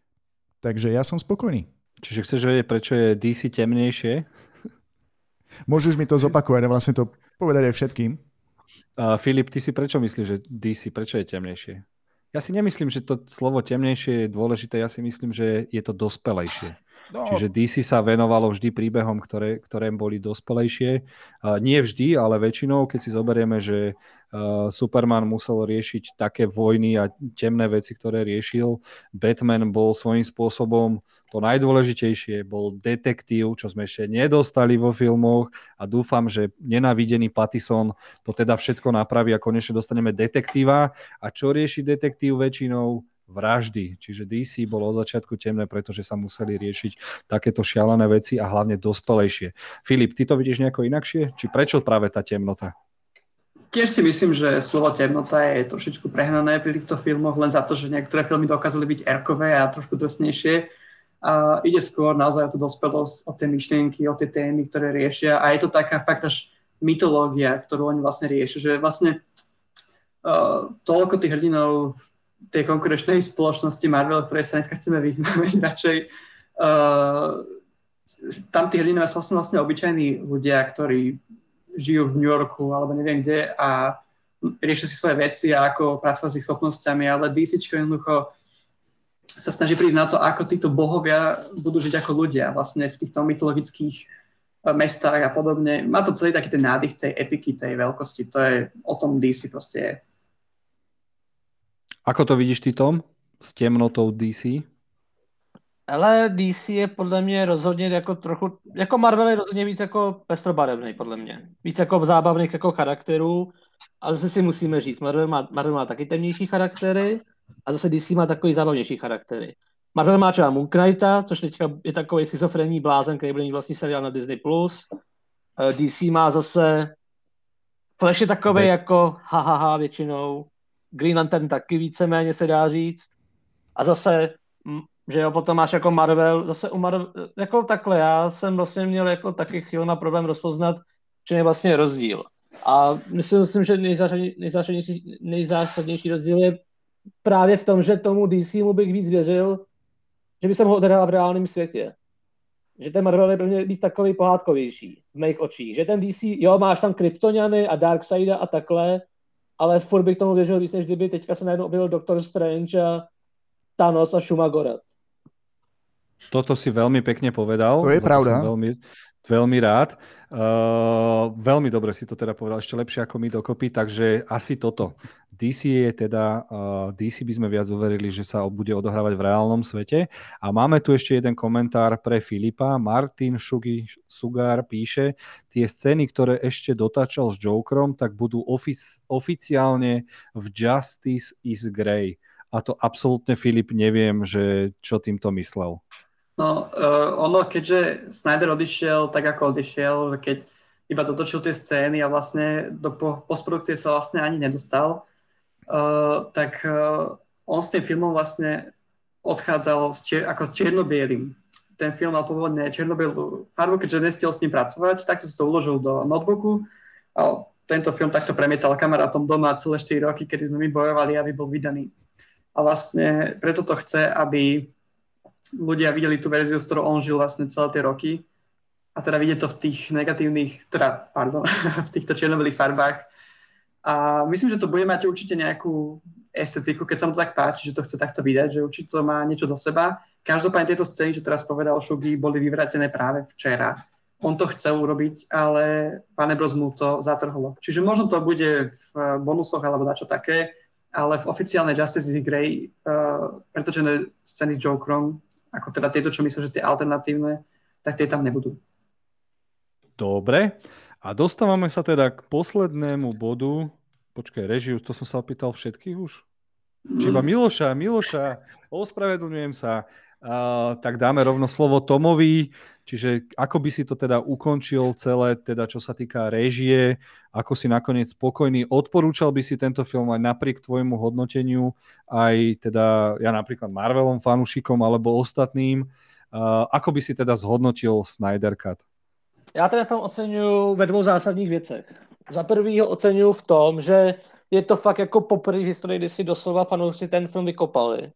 Takže ja som spokojný. Čiže chceš vedieť, prečo je dé cé temnejšie? Môžeš mi to zopakovať a vlastne to povedať aj všetkým. Uh, Filip, ty si prečo myslíš, že dé cé, prečo je temnejšie? Ja si nemyslím, že to slovo temnejšie je dôležité, ja si myslím, že je to dospelejšie. No. Čiže dé cé sa venovalo vždy príbehom, ktoré, ktoré boli dospelejšie. Uh, nie vždy, ale väčšinou, keď si zoberieme, že uh, Superman musel riešiť také vojny a temné veci, ktoré riešil. Batman bol svojím spôsobom to najdôležitejšie, bol detektív, čo sme ešte nedostali vo filmoch a dúfam, že nenávidený Pattison to teda všetko napraví a konečne dostaneme detektíva. A čo rieši detektív väčšinou? Vraždy. Čiže dé cé bolo od začiatku temné, pretože sa museli riešiť takéto šialené veci a hlavne dospelejšie. Filip, ty to vidíš nejako inakšie? Či prečo práve tá temnota? Tiež si myslím, že slovo temnota je trošičku prehnané pri týchto filmoch, len za to, že niektoré filmy dokázali byť erkové a trošku drsnejšie. A ide skôr naozaj o tú dospelosť, o tie myšlienky, o tie témy, ktoré riešia. A je to taká fakt až mytológia, ktorú oni vlastne riešia. Že vlastne uh, toľko tých hrdinov v tej konkurenčnej spoločnosti Marvel, ktorej sa dneska chceme vyhnúť radšej. Uh, tam tí hrdinové sú vlastne, vlastne obyčajní ľudia, ktorí žijú v New Yorku alebo neviem kde a riešia si svoje veci a ako pracovať s ich schopnosťami, ale DCčko jednoducho sa snaží prísť na to, ako títo bohovia budú žiť ako ľudia vlastne v týchto mytologických mestách a podobne. Má to celý taký ten nádych tej epiky, tej veľkosti. To je o tom dé cé proste je. Ako to vidíš ty, Tom? S temnotou dé cé? Ale dé cé je podle mě rozhodně jako trochu, jako Marvel je rozhodně víc jako pestrobarevný podle mě. Víc jako zábavných jako charakterů a zase si musíme říct, Marvel má, Marvel má taky temnější charaktery a zase dé cé má takový zábavnější charaktery. Marvel má třeba Moon Knighta, což teďka je takový schizofrenní blázen, který byl mít vlastní seriál na Disney plus. dé cé má zase Flash je takový ne. jako hahaha většinou. Green Lantern taky víceméně se dá říct. A zase že jo, potom máš jako Marvel, zase u Marvel, jako takhle, já jsem vlastně měl jako taky chvílema problém rozpoznat, že je vlastně rozdíl. A myslím, myslím že nejzásadnější, nejzásadnější rozdíl je právě v tom, že tomu dé cé mu bych víc věřil, že by jsem ho odehrál v reálném světě. Že ten Marvel je pro mě víc takový pohádkovější v mých očích. Že ten dé cé, jo, máš tam Kryptoniany a Darkseida a takhle, ale furt bych tomu věřil víc, než kdyby teďka se najednou objevil Doctor Strange a Thanos a Shumagorat. Toto si veľmi pekne povedal. To je pravda. Veľmi, veľmi rád. Uh, veľmi dobre si to teda povedal, ešte lepšie ako my dokopy, takže asi toto. dé cé je teda, uh, dé cé by sme viac uverili, že sa bude odohrávať v reálnom svete. A máme tu ešte jeden komentár pre Filipa. Martin Šugi, Sugar píše, tie scény, ktoré ešte dotáčal s Jokerom, tak budú ofic- oficiálne v Justice is Grey. A to absolútne, Filip, neviem, že čo týmto myslel. No, uh, ono, keďže Snyder odišiel tak, ako odišiel, že keď iba dotočil tie scény a vlastne do postprodukcie sa vlastne ani nedostal, uh, tak uh, on s tým filmom vlastne odchádzal s čier- ako s čierno-bielým. Ten film mal pôvodne čierno-bielú farbu, keďže nestiel s ním pracovať, tak si to uložil do notebooku a tento film takto premietal kamarátom doma celé štyri roky, kedy sme my bojovali, aby bol vydaný. A vlastne preto to chce, aby ľudia videli tú verziu, s ktorou on žil vlastne celé tie roky. A teda vidieť to v tých negatívnych, teda, pardon, v týchto čierno-bielých farbách. A myslím, že to bude mať určite nejakú estetiku, keď sa mu to tak páči, že to chce takto vydať, že určite to má niečo do seba. Každopádne tieto scény, čo teraz povedal Šugi, boli vyvrátené práve včera. On to chcel urobiť, ale Warner Bros. Mu to zatrhlo. Čiže možno to bude v bonusoch alebo dačo také, ale v oficiálnej Justice League Grey uh, pretočené scény s Jokerom, ako teda tieto, čo myslím, že tie alternatívne, tak tie tam nebudú. Dobre. A dostávame sa teda k poslednému bodu. Počkaj, režiu, to som sa opýtal všetkých už? Mm. Čiže iba Miloša, Miloša, ospravedlňujem sa. Uh, tak dáme rovno slovo Tomovi. Čiže ako by si to teda ukončil celé, teda čo sa týka réžie, ako si nakoniec spokojný? Odporúčal by si tento film aj napriek tvojmu hodnoteniu, aj teda ja napríklad Marvelom fanúšikom alebo ostatným. Uh, ako by si teda zhodnotil Snyder Cut? Já ten film oceňuji ve dvou zásadních věcech. Za prvý ho oceňuji v tom, že je to fakt jako poprvé v historii, kdy si doslova fanoušci ten film vykopali.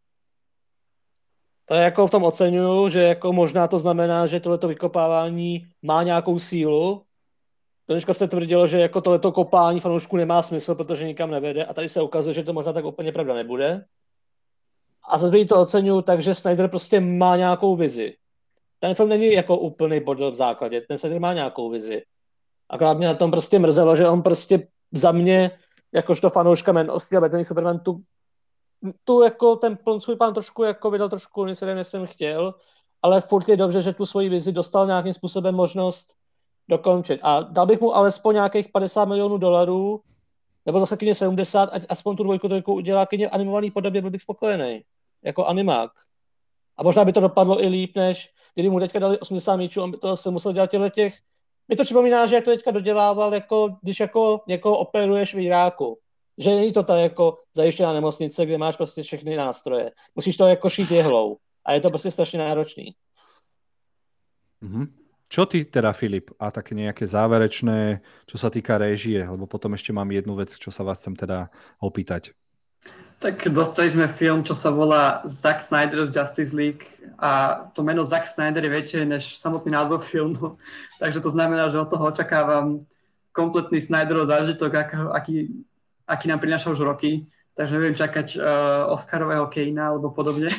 To je jako v tom oceňuju, že jako možná to znamená, že tohleto vykopávání má nějakou sílu. Dneška se tvrdilo, že jako tohleto kopání fanoušků nemá smysl, protože nikam nevede a tady se ukazuje, že to možná tak úplně pravda nebude. A za druhý to oceňuju, takže Snyder prostě má nějakou vizi. Ten film není jako úplný bordel v základě, ten Snyder má nějakou vizi. Akorát mě na tom prostě mrzelo, že on prostě za mě, jakožto fanouška Man of Steel a Batman Superman, tu, tu jako ten svůj plán trošku jako vydal trošku nesvědem, než jsem chtěl, ale furt je dobře, že tu svoji vizi dostal nějakým způsobem možnost dokončit. A dal bych mu alespoň nějakých padesát milionů dolarů, nebo zase kyně sedmdesát, ať aspoň tu dvojku trojku udělá kyně animovaný podobě, byl bych spokojený. Jako animák. A možná by to dopadlo i líp, než kdyby mu teďka dali osmdesát míčů, on by to se musel dělat těchto těch. Mi to připomíná, že jak to teďka dodělával, jako když jako někoho operuješ v Iráku. Že není to ta jako zajištěná nemocnice, kde máš prostě všechny nástroje. Musíš to jako šít jehlou. A je to prostě strašně náročný. Mm-hmm. Čo ty teda, Filip? A také nejaké záverečné, čo sa týka réžie, lebo potom ešte mám jednu vec, čo sa vás chcem teda opýtať. Tak dostali sme film, čo sa volá Zack Snyder's Justice League a to meno Zack Snyder je väčšie než samotný názov filmu, takže to znamená, že od toho očakávam kompletný Snyderov zážitok, aký, aký nám prináša už roky, takže neviem čakať uh, Oscarového Kanea alebo podobne.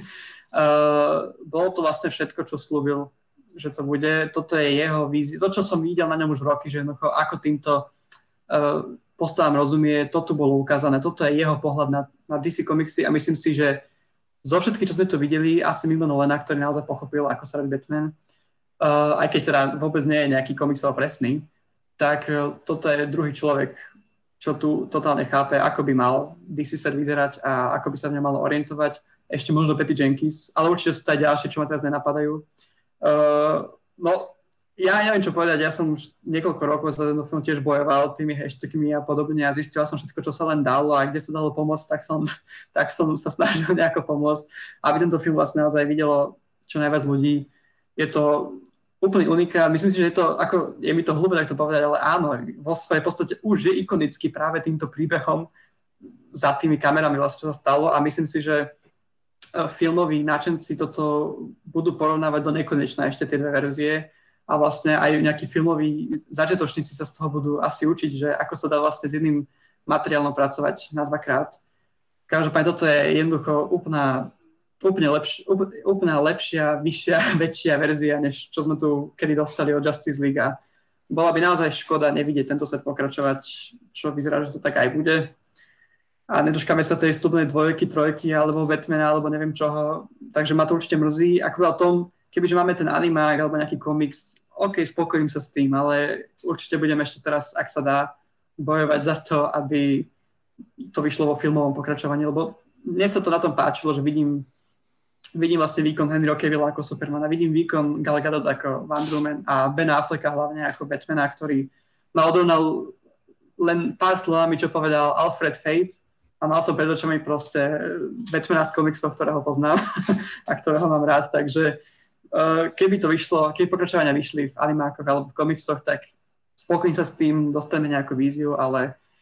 uh, bolo to vlastne všetko, čo slúbil, že to bude. Toto je jeho vízia. To, čo som videl na ňom už roky, že jednoducho, ako týmto uh, postavám rozumie, to tu bolo ukázané. Toto je jeho pohľad na, na dé cé komiksy a myslím si, že zo všetkých, čo sme tu videli, asi mimo Nolana, ktorý naozaj pochopil, ako sa robí Batman, uh, aj keď teda vôbec nie je nejaký komiksov presný, tak uh, toto je druhý človek, čo tu totálne chápe, ako by mal dé cé set vyzerať a ako by sa v ňom malo orientovať. Ešte možno Patty Jenkins, ale určite sú to aj ďalšie, čo ma teraz nenapadajú. Uh, no, ja neviem, čo povedať, ja som už niekoľko rokov za ten film tiež bojoval tými hashtagmi a podobne a zistil som všetko, čo sa len dalo a kde sa dalo pomôcť, tak som, tak som sa snažil nejako pomôcť, aby tento film vlastne naozaj videlo čo najviac ľudí. Je to úplný unikát, myslím si, že je to, ako je mi to hlúpe tak to povedať, ale áno, vo svojej podstate už je ikonický práve týmto príbehom za tými kamerami vlastne, čo sa stalo a myslím si, že filmoví náčenci toto budú porovnávať do nekonečna ešte tie dve verzie a vlastne aj nejakí filmoví začiatočníci sa z toho budú asi učiť, že ako sa dá vlastne s jedným materiálom pracovať na dvakrát. Každopádne toto je jednoducho úplná, úplne, lepš, úplná lepšia, vyššia, väčšia verzia, než čo sme tu kedy dostali od Justice League a bola by naozaj škoda nevidieť tento set pokračovať, čo vyzerá, že to tak aj bude. A nedočkáme sa tej vstupnej dvojky, trojky, alebo Batmana, alebo neviem čoho. Takže ma to určite mrzí. Ako o tom, kebyže máme ten animák, alebo nejaký komiks, OK, spokojím sa s tým, ale určite budem ešte teraz, ak sa dá, bojovať za to, aby to vyšlo vo filmovom pokračovaní, lebo mne sa to na tom páčilo, že vidím, vidím vlastne výkon Henryho Cavilla ako Supermana, vidím výkon Gal Gadot ako Wonder Woman a Ben Afflecka hlavne ako Batmana, ktorý ma odrovnal len pár slovami, čo povedal Alfred Faith, a mal som pred očami proste Batmana z komiksov, ktorého poznám a ktorého mám rád, takže uh, keby to vyšlo, keby pokračovania vyšli v animákoch alebo v komiksoch, tak spokojím sa s tým, dostaneme nejakú víziu, ale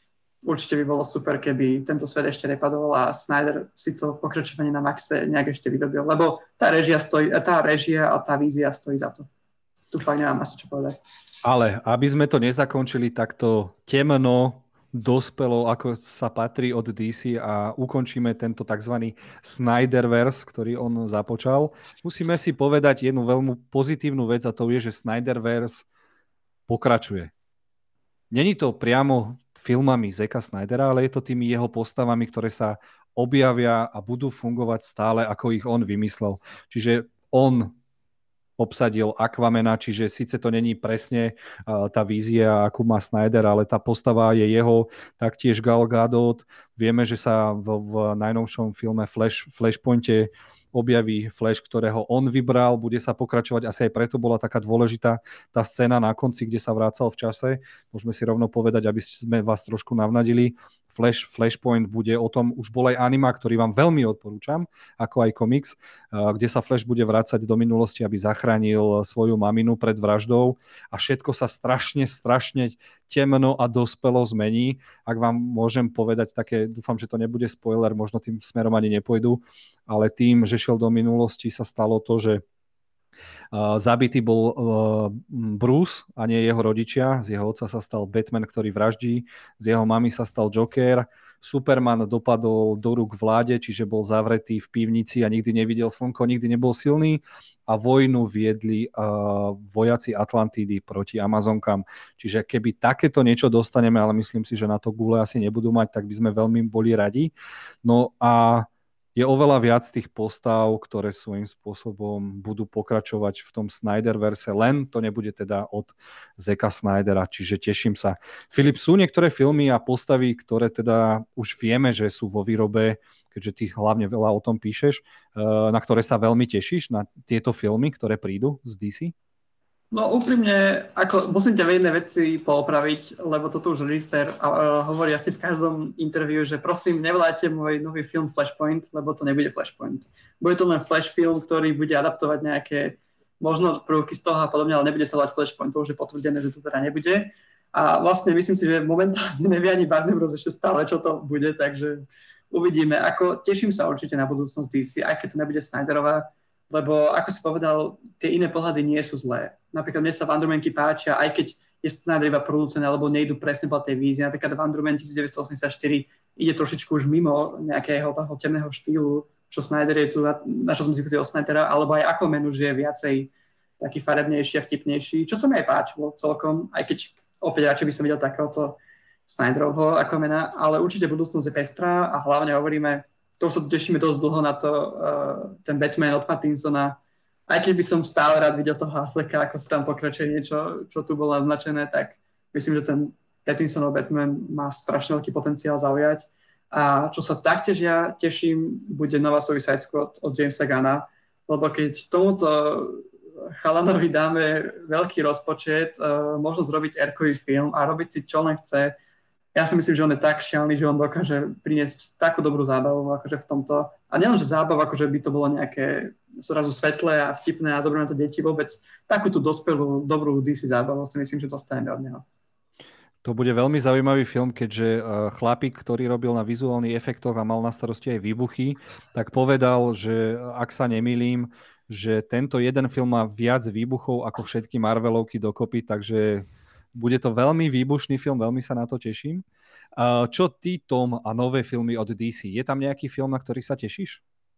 určite by bolo super, keby tento svet ešte nepadol a Snyder si to pokračovanie na Maxe nejak ešte vydobil, lebo tá režia, stojí, tá režia a tá vízia stojí za to. Tu fakt nemám asi čo povedať. Ale aby sme to nezakončili takto temno, dospelo, ako sa patrí od dé cé a ukončíme tento tzv. Snyderverse, ktorý on započal, musíme si povedať jednu veľmi pozitívnu vec a to je, že Snyderverse pokračuje. Není to priamo filmami Zacka Snydera, ale je to tými jeho postavami, ktoré sa objavia a budú fungovať stále, ako ich on vymyslel. Čiže on obsadil Aquamana, čiže síce to není presne uh, tá vízia, akú má Snyder, ale tá postava je jeho, taktiež Gal Gadot. Vieme, že sa v, v najnovšom filme Flash, Flashpointe objaví Flash, ktorého on vybral, bude sa pokračovať, asi aj preto bola taká dôležitá tá scéna na konci, kde sa vracal v čase. Môžeme si rovno povedať, aby sme vás trošku navnadili. Flash, Flashpoint bude o tom, už bol aj anima, ktorý vám veľmi odporúčam, ako aj komiks, kde sa Flash bude vrácať do minulosti, aby zachránil svoju maminu pred vraždou a všetko sa strašne, strašne temno a dospelo zmení. Ak vám môžem povedať také, dúfam, že to nebude spoiler, možno tým smerom ani nepôjdu, ale tým, že šiel do minulosti, sa stalo to, že Uh, zabitý bol uh, Bruce a nie jeho rodičia. Z jeho otca sa stal Batman, ktorý vraždí. Z jeho mamy sa stal Joker. Superman dopadol do rúk vláde, čiže bol zavretý v pivnici a nikdy nevidel slnko, nikdy nebol silný. A vojnu viedli uh, vojaci Atlantidy proti Amazonkám. Čiže keby takéto niečo dostaneme, ale myslím si, že na to gule asi nebudú mať, tak by sme veľmi boli radi. No a je oveľa viac tých postav, ktoré svojím spôsobom budú pokračovať v tom Snyderverse, len to nebude teda od Zacka Snydera, čiže teším sa. Filip, sú niektoré filmy a postavy, ktoré teda už vieme, že sú vo výrobe, keďže ty hlavne veľa o tom píšeš, na ktoré sa veľmi tešíš, na tieto filmy, ktoré prídu z dé cé? No úprimne, ako musím ťa v jednej veci poopraviť, lebo toto už režisér uh, hovorí asi v každom interviu, že prosím, nevolajte môj nový film Flashpoint, lebo to nebude Flashpoint. Bude to len Flash film, ktorý bude adaptovať nejaké možno prvky z toho a podobne, ale nebude sa volať Flashpoint, to už je potvrdené, že to teda nebude. A vlastne myslím si, že momentálne nevie ani Warner Bros. Ešte stále, čo to bude, takže uvidíme. Ako, teším sa určite na budúcnosť dé cé, aj keď to nebude Snyderová, lebo ako si povedal, tie iné pohľady nie sú zlé. Napríklad mne sa Wondermanky páčia, aj keď je Snyder iba producent, alebo nejdu presne po tej vízie. Napríklad Wonderman devätnásťstoosemdesiatštyri ide trošičku už mimo nejakého toho temného štýlu, čo Snyder je tu, na čo som si o Snydera, alebo aj Aquaman už je viacej taký farebnejší a vtipnejší, čo sa mi aj páčilo celkom, aj keď opäť radšej by som videl takéhoto Snyderovho Aquamana, ale určite budúcnosť je pestrá a hlavne hovoríme, to už sa tešíme dosť dlho na to, uh, ten Batman od Pattinsona. Aj keď by som stále rád videl toho Afflecka, ako sa tam pokračuje niečo, čo tu bolo naznačené, tak myslím, že ten Pattinsonov Batman má strašne veľký potenciál zaujať. A čo sa taktiež ja teším, bude nová Suicide Squad od Jamesa Gunna, lebo keď tomuto chalanovi dáme veľký rozpočet, uh, možno zrobiť erkový film a robiť si čo len chce, ja si myslím, že on je tak šialný, že on dokáže priniesť takú dobrú zábavu akože v tomto. A nielen, že zábavu, akože by to bolo nejaké zrazu svetlé a vtipné a zoberme to deti, vôbec takúto dospelú, dobrú dé cé zábavu si myslím, že dostaneme od neho. To bude veľmi zaujímavý film, keďže chlapík, ktorý robil na vizuálnych efektoch a mal na starosti aj výbuchy, tak povedal, že ak sa nemýlim, že tento jeden film má viac výbuchov ako všetky Marvelovky dokopy, takže bude to veľmi výbušný film, veľmi sa na to teším. Čo ty, Tom, a nové filmy od dé cé? Je tam nejaký film, na ktorý sa tešíš?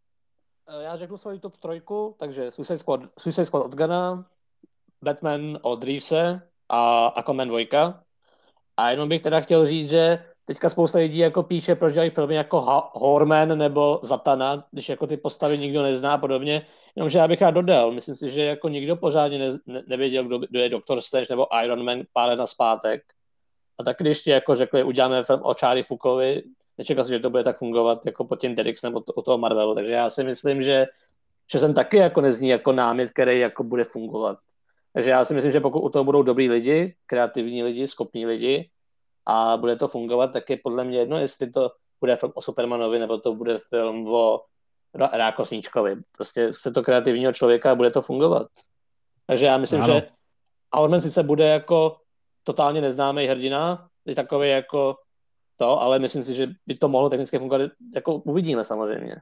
Já řeknu svoji top trojku, takže Suicide Squad, Suicide Squad od Gunna, Batman od Reevese a Aquaman dva. A jenom bych teda chtěl říct, že teďka spousta lidí jako píše, proč dělají filmy jako Horman nebo Zatanna, když jako ty postavy nikdo nezná a podobně. Jenomže já bych rád dodal, myslím si, že jako nikdo pořádně ne, ne, nevěděl, kdo, kdo je Doktor Strange nebo Iron Man pár let nazpátek. A tak když ti jako řekli, uděláme film o Charlie Fukovi, nečekal si, že to bude tak fungovat jako pod tím Derricksonem od, od toho Marvelu. Takže já si myslím, že, že jsem taky jako nezní jako námět, který jako bude fungovat. Takže já si myslím, že pokud u toho budou dobrý lidi, kreativní lidi, schopní lidi a bude to fungovat, tak je podle mě jedno, jestli to bude film o Supermanovi nebo to bude film o Rákosníčkovi. Prostě chce to kreativního člověka a bude to fungovat. Takže já myslím, ano. Že Horman sice bude jako totálně neznámý hrdina, je takový jako to, ale myslím si, že by to mohlo technicky fungovat, jako uvidíme samozřejmě.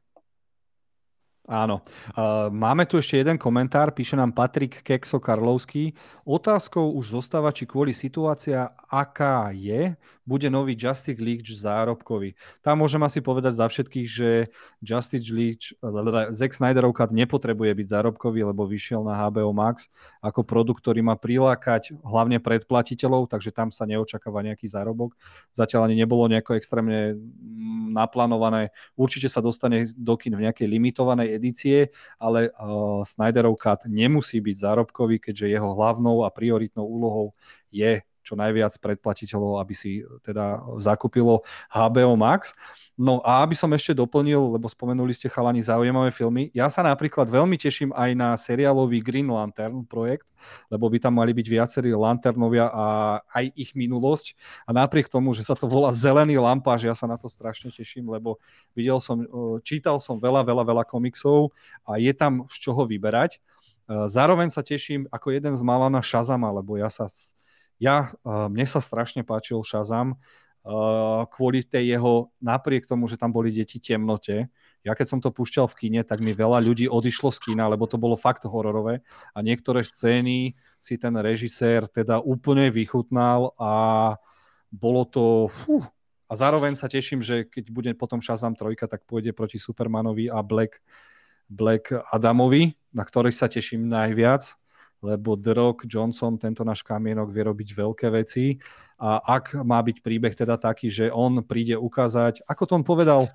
Áno. Uh, máme tu ešte jeden komentár, píše nám Patrik Kekso Karlovský. Otázkou už zostáva, či kvôli situácia, aká je, bude nový Justice League zárobkový. Tam môžem asi povedať za všetkých, že Justice League, Zack Snyderov cut nepotrebuje byť zárobkový, lebo vyšiel na há bé ó Max ako produkt, ktorý má prilákať hlavne predplatiteľov, takže tam sa neočakáva nejaký zárobok. Zatiaľ ani nebolo nejako extrémne naplánované. Určite sa dostane do kin v nejakej limitovanej edície, ale uh, Snyderov cut nemusí byť zárobkový, keďže jeho hlavnou a prioritnou úlohou je čo najviac predplatiteľov, aby si teda zakúpilo há bé ó Max. No a aby som ešte doplnil, lebo spomenuli ste chalani zaujímavé filmy, ja sa napríklad veľmi teším aj na seriálový Green Lantern projekt, lebo by tam mali byť viacerí lanternovia a aj ich minulosť. A napriek tomu, že sa to volá Zelený lampáž, ja sa na to strašne teším, lebo videl som, čítal som veľa, veľa, veľa komiksov a je tam z čoho vyberať. Zároveň sa teším ako jeden z mála na Shazama, lebo ja sa, ja, mne sa strašne páčil Shazam, Uh, kvôli tej jeho, napriek tomu, že tam boli deti temnote. Ja keď som to púšťal v kine, tak mi veľa ľudí odišlo z kina, lebo to bolo fakt hororové a niektoré scény si ten režisér teda úplne vychutnal a bolo to... Fú. A zároveň sa teším, že keď bude potom Shazam trojka, tak pôjde proti Supermanovi a Black, Black Adamovi, na ktorých sa teším najviac, lebo The Rock Johnson, tento náš kamienok, vie robiť veľké veci. A ak má byť príbeh teda taký, že on príde ukázať, ako to on povedal,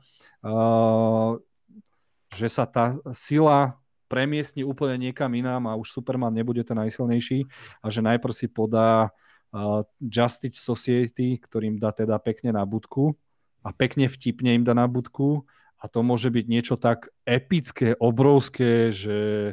uh, že sa tá sila premiestni úplne niekam inám a už Superman nebude ten najsilnejší a že najprv si podá uh, Justice Society, ktorým dá teda pekne na budku a pekne vtipne im dá na budku a to môže byť niečo tak epické, obrovské, že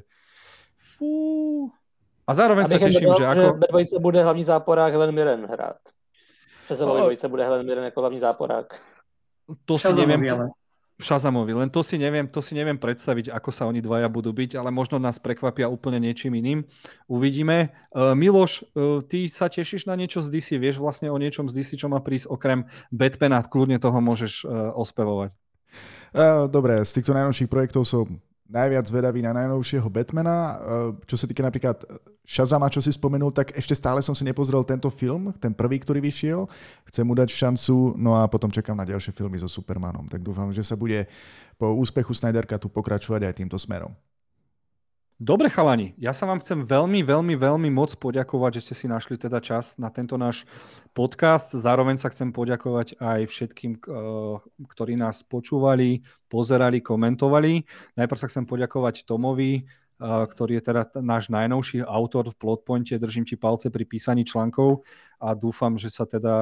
fú... A zároveň sa teším, dodal, že ako... Že ve dvojce bude hlavní záporák Helen Mirren hrát. Šazamovi no, dvojce bude Helen Mirren ako hlavní záporák. To si neviem... Shazamovi, len to si neviem, to si neviem predstaviť, ako sa oni dvaja budú byť, ale možno nás prekvapia úplne niečím iným. Uvidíme. Uh, Miloš, uh, ty sa tešíš na niečo z dé cé? Vieš vlastne o niečom z dé cé, čo má prísť okrem Batmana? Kľudne toho môžeš uh, ospevovať. Uh, dobre, z týchto najnovších projektov som najviac zvedavý na najnovšieho Batmana. Čo sa týka napríklad Shazama, čo si spomenul, tak ešte stále som si nepozrel tento film, ten prvý, ktorý vyšiel. Chcem mu dať šancu, no a potom čakám na ďalšie filmy so Supermanom. Tak dúfam, že sa bude po úspechu Snyder Cutu pokračovať aj týmto smerom. Dobre chalani, ja sa vám chcem veľmi, veľmi, veľmi moc poďakovať, že ste si našli teda čas na tento náš podcast. Zároveň sa chcem poďakovať aj všetkým, ktorí nás počúvali, pozerali, komentovali. Najprv sa chcem poďakovať Tomovi, ktorý je teda náš najnovší autor v Plotpointe. Držím ti palce pri písaní článkov a dúfam, že sa teda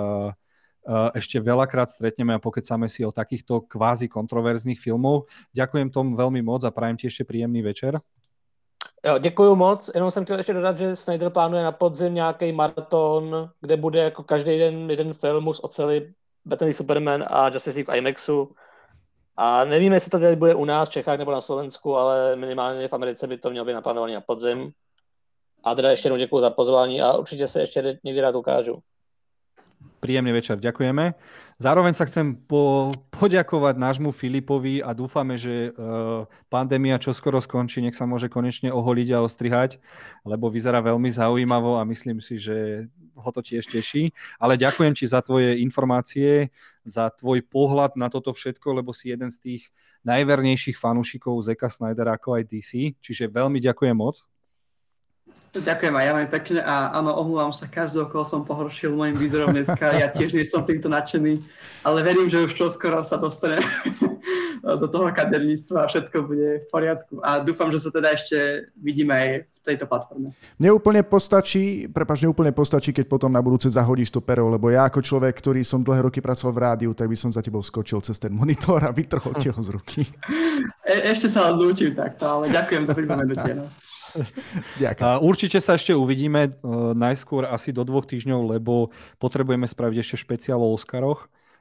ešte veľakrát stretneme a pokecáme si o takýchto kvázi kontroverzných filmov. Ďakujem Tom veľmi moc a prajem ti ešte príjemný večer. Jo, děkuju moc, jenom jsem chtěl ještě dodat, že Snyder plánuje na podzim nějaký maraton, kde bude jako každý den jeden film z oceli Batman Superman a Justice League v IMAXu. A nevíme, jestli to tady bude u nás v Čechách nebo na Slovensku, ale minimálně v Americe by to mělo být naplánované na podzim. A teda ještě jednou děkuju za pozvání a určitě se ještě někdy rád ukážu. Príjemný večer, ďakujeme. Zároveň sa chcem po, poďakovať nášmu Filipovi a dúfame, že uh, pandémia čoskoro skončí, nech sa môže konečne oholiť a ostrihať, lebo vyzerá veľmi zaujímavo a myslím si, že ho to tiež teší. Ale ďakujem ti za tvoje informácie, za tvoj pohľad na toto všetko, lebo si jeden z tých najvernejších fanúšikov Zacka Snydera ako aj dé cé, čiže veľmi ďakujem moc. Ďakujem aj ja veľmi pekne a áno, omlúvam sa každého, koho som pohoršil môjim výzorom dneska. Ja tiež nie som týmto nadšený, ale verím, že už čoskoro sa dostanem do toho kaderníctva a všetko bude v poriadku. A dúfam, že sa teda ešte vidíme aj v tejto platforme. Mne úplne postačí, prepáč, mne úplne postačí, keď potom na budúce zahodíš to pero, lebo ja ako človek, ktorý som dlhé roky pracoval v rádiu, tak by som za tebou skočil cez ten monitor a vytrhol ti ho z ruky. E- ešte sa len lúčim takto, ale ďakujem za pripomenutie. No. Ďakujem. Určite sa ešte uvidíme uh, najskôr asi do dvoch týždňov, lebo potrebujeme spraviť ešte špeciál o Oscaroch.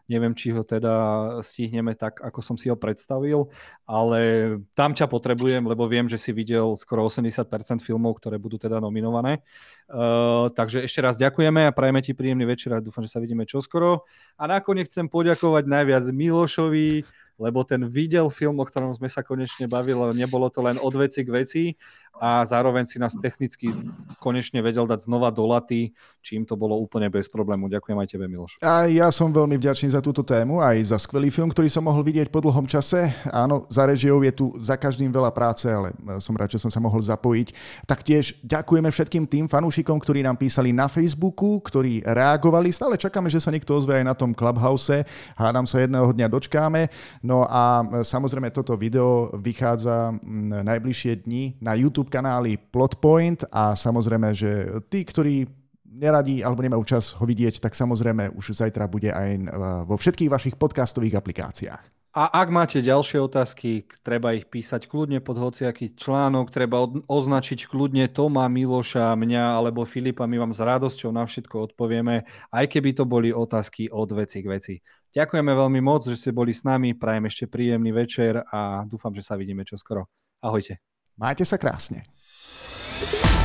Neviem, či ho teda stihneme tak, ako som si ho predstavil, ale tam ťa potrebujem, lebo viem, že si videl skoro osemdesiat percent filmov, ktoré budú teda nominované. Uh, takže ešte raz ďakujeme a prajeme ti príjemný večer a dúfam, že sa vidíme čoskoro. A nakoniec chcem poďakovať najviac Milošovi, lebo ten videl film, o ktorom sme sa konečne bavili, nebolo to len od veci k veci a zároveň si nás technicky konečne vedel dať znova do laty, čím to bolo úplne bez problému. Ďakujem aj tebe, Miloš. A ja som veľmi vďačný za túto tému, aj za skvelý film, ktorý som mohol vidieť po dlhom čase. Áno, za režiou je tu za každým veľa práce, ale som rád, že som sa mohol zapojiť. Taktiež ďakujeme všetkým tým fanúšikom, ktorí nám písali na Facebooku, ktorí reagovali. Stále čakáme, že sa niekto ozve aj na tom Clubhouse. Hádam sa jedného dňa dočkáme. No a samozrejme toto video vychádza najbližšie dni na YouTube kanáli Plotpoint a samozrejme, že tí, ktorí neradi alebo nemajú čas ho vidieť, tak samozrejme už zajtra bude aj vo všetkých vašich podcastových aplikáciách. A ak máte ďalšie otázky, treba ich písať kľudne pod hociaký článok, treba označiť kľudne Toma, Miloša, mňa alebo Filipa, my vám s radosťou na všetko odpovieme, aj keby to boli otázky od veci k veci. Ďakujeme veľmi moc, že ste boli s nami, prajem ešte príjemný večer a dúfam, že sa vidíme čoskoro. Ahojte. Majte sa krásne.